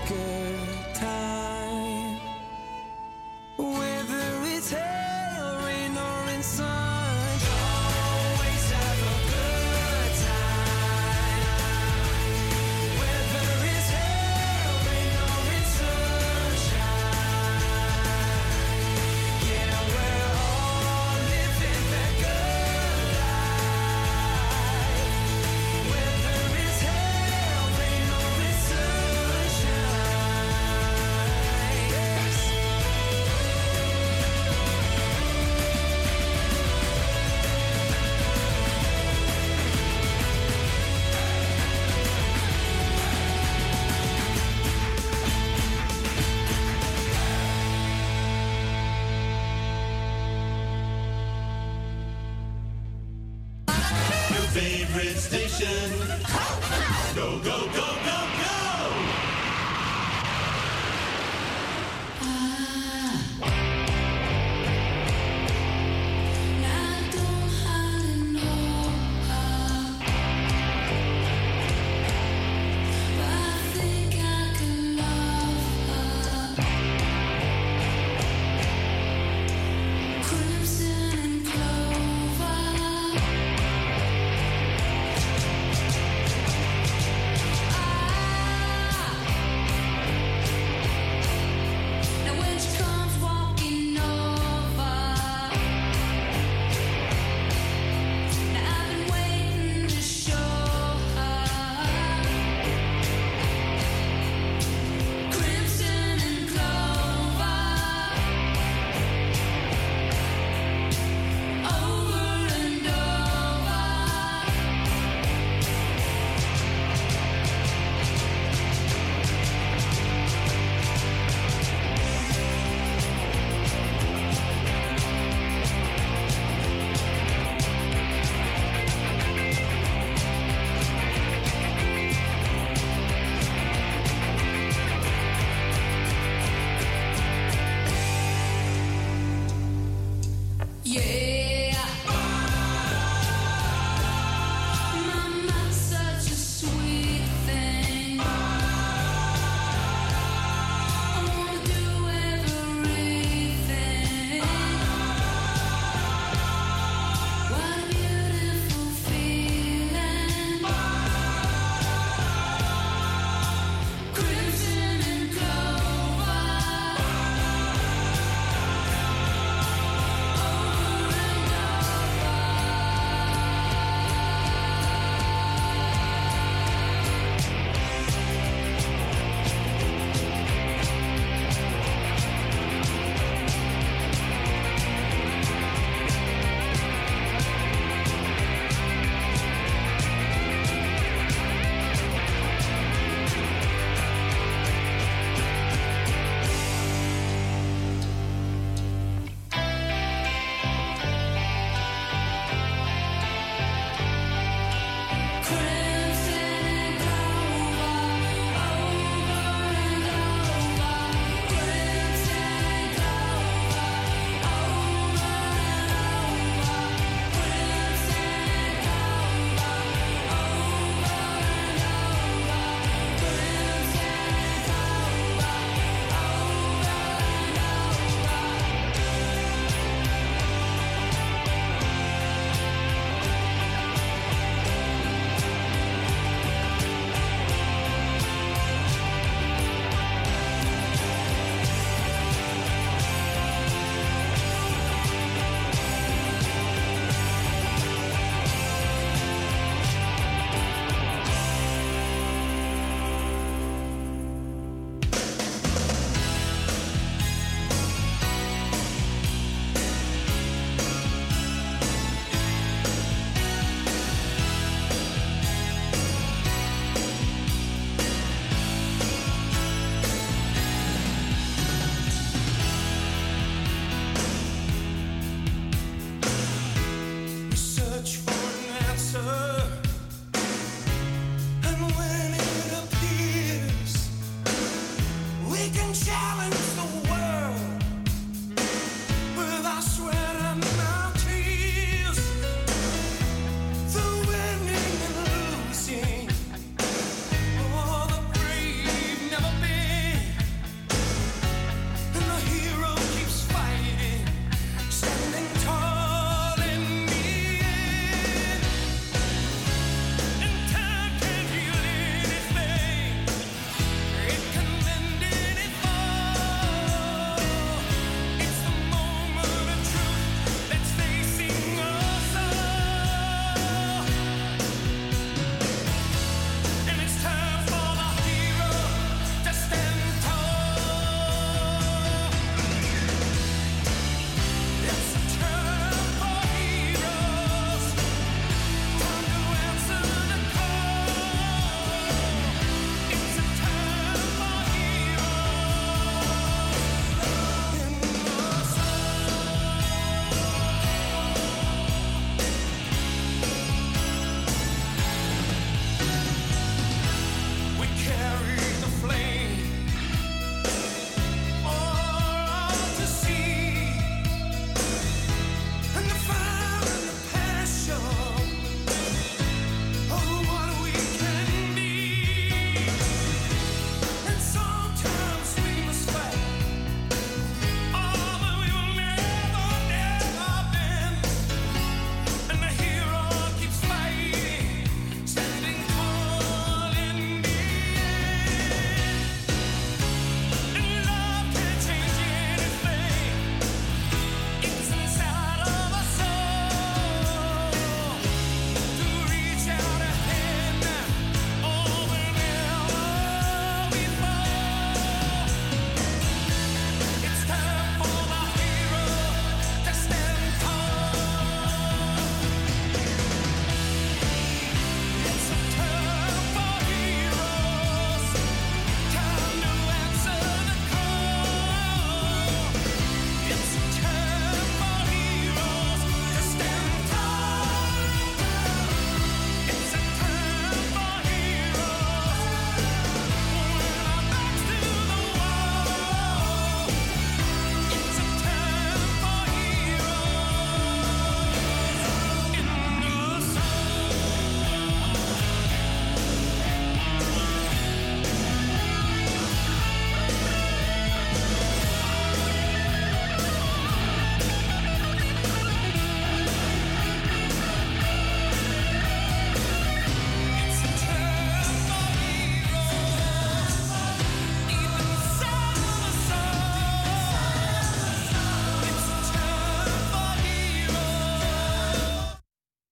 good time. Whether it's hail, rain, or in sunshine, always have a good time. Whether it's hail, rain, or in sunshine, yeah, we're all living that good life. Whether it's hail, rain, or in sunshine, yes. Your favorite station. Go, go, go,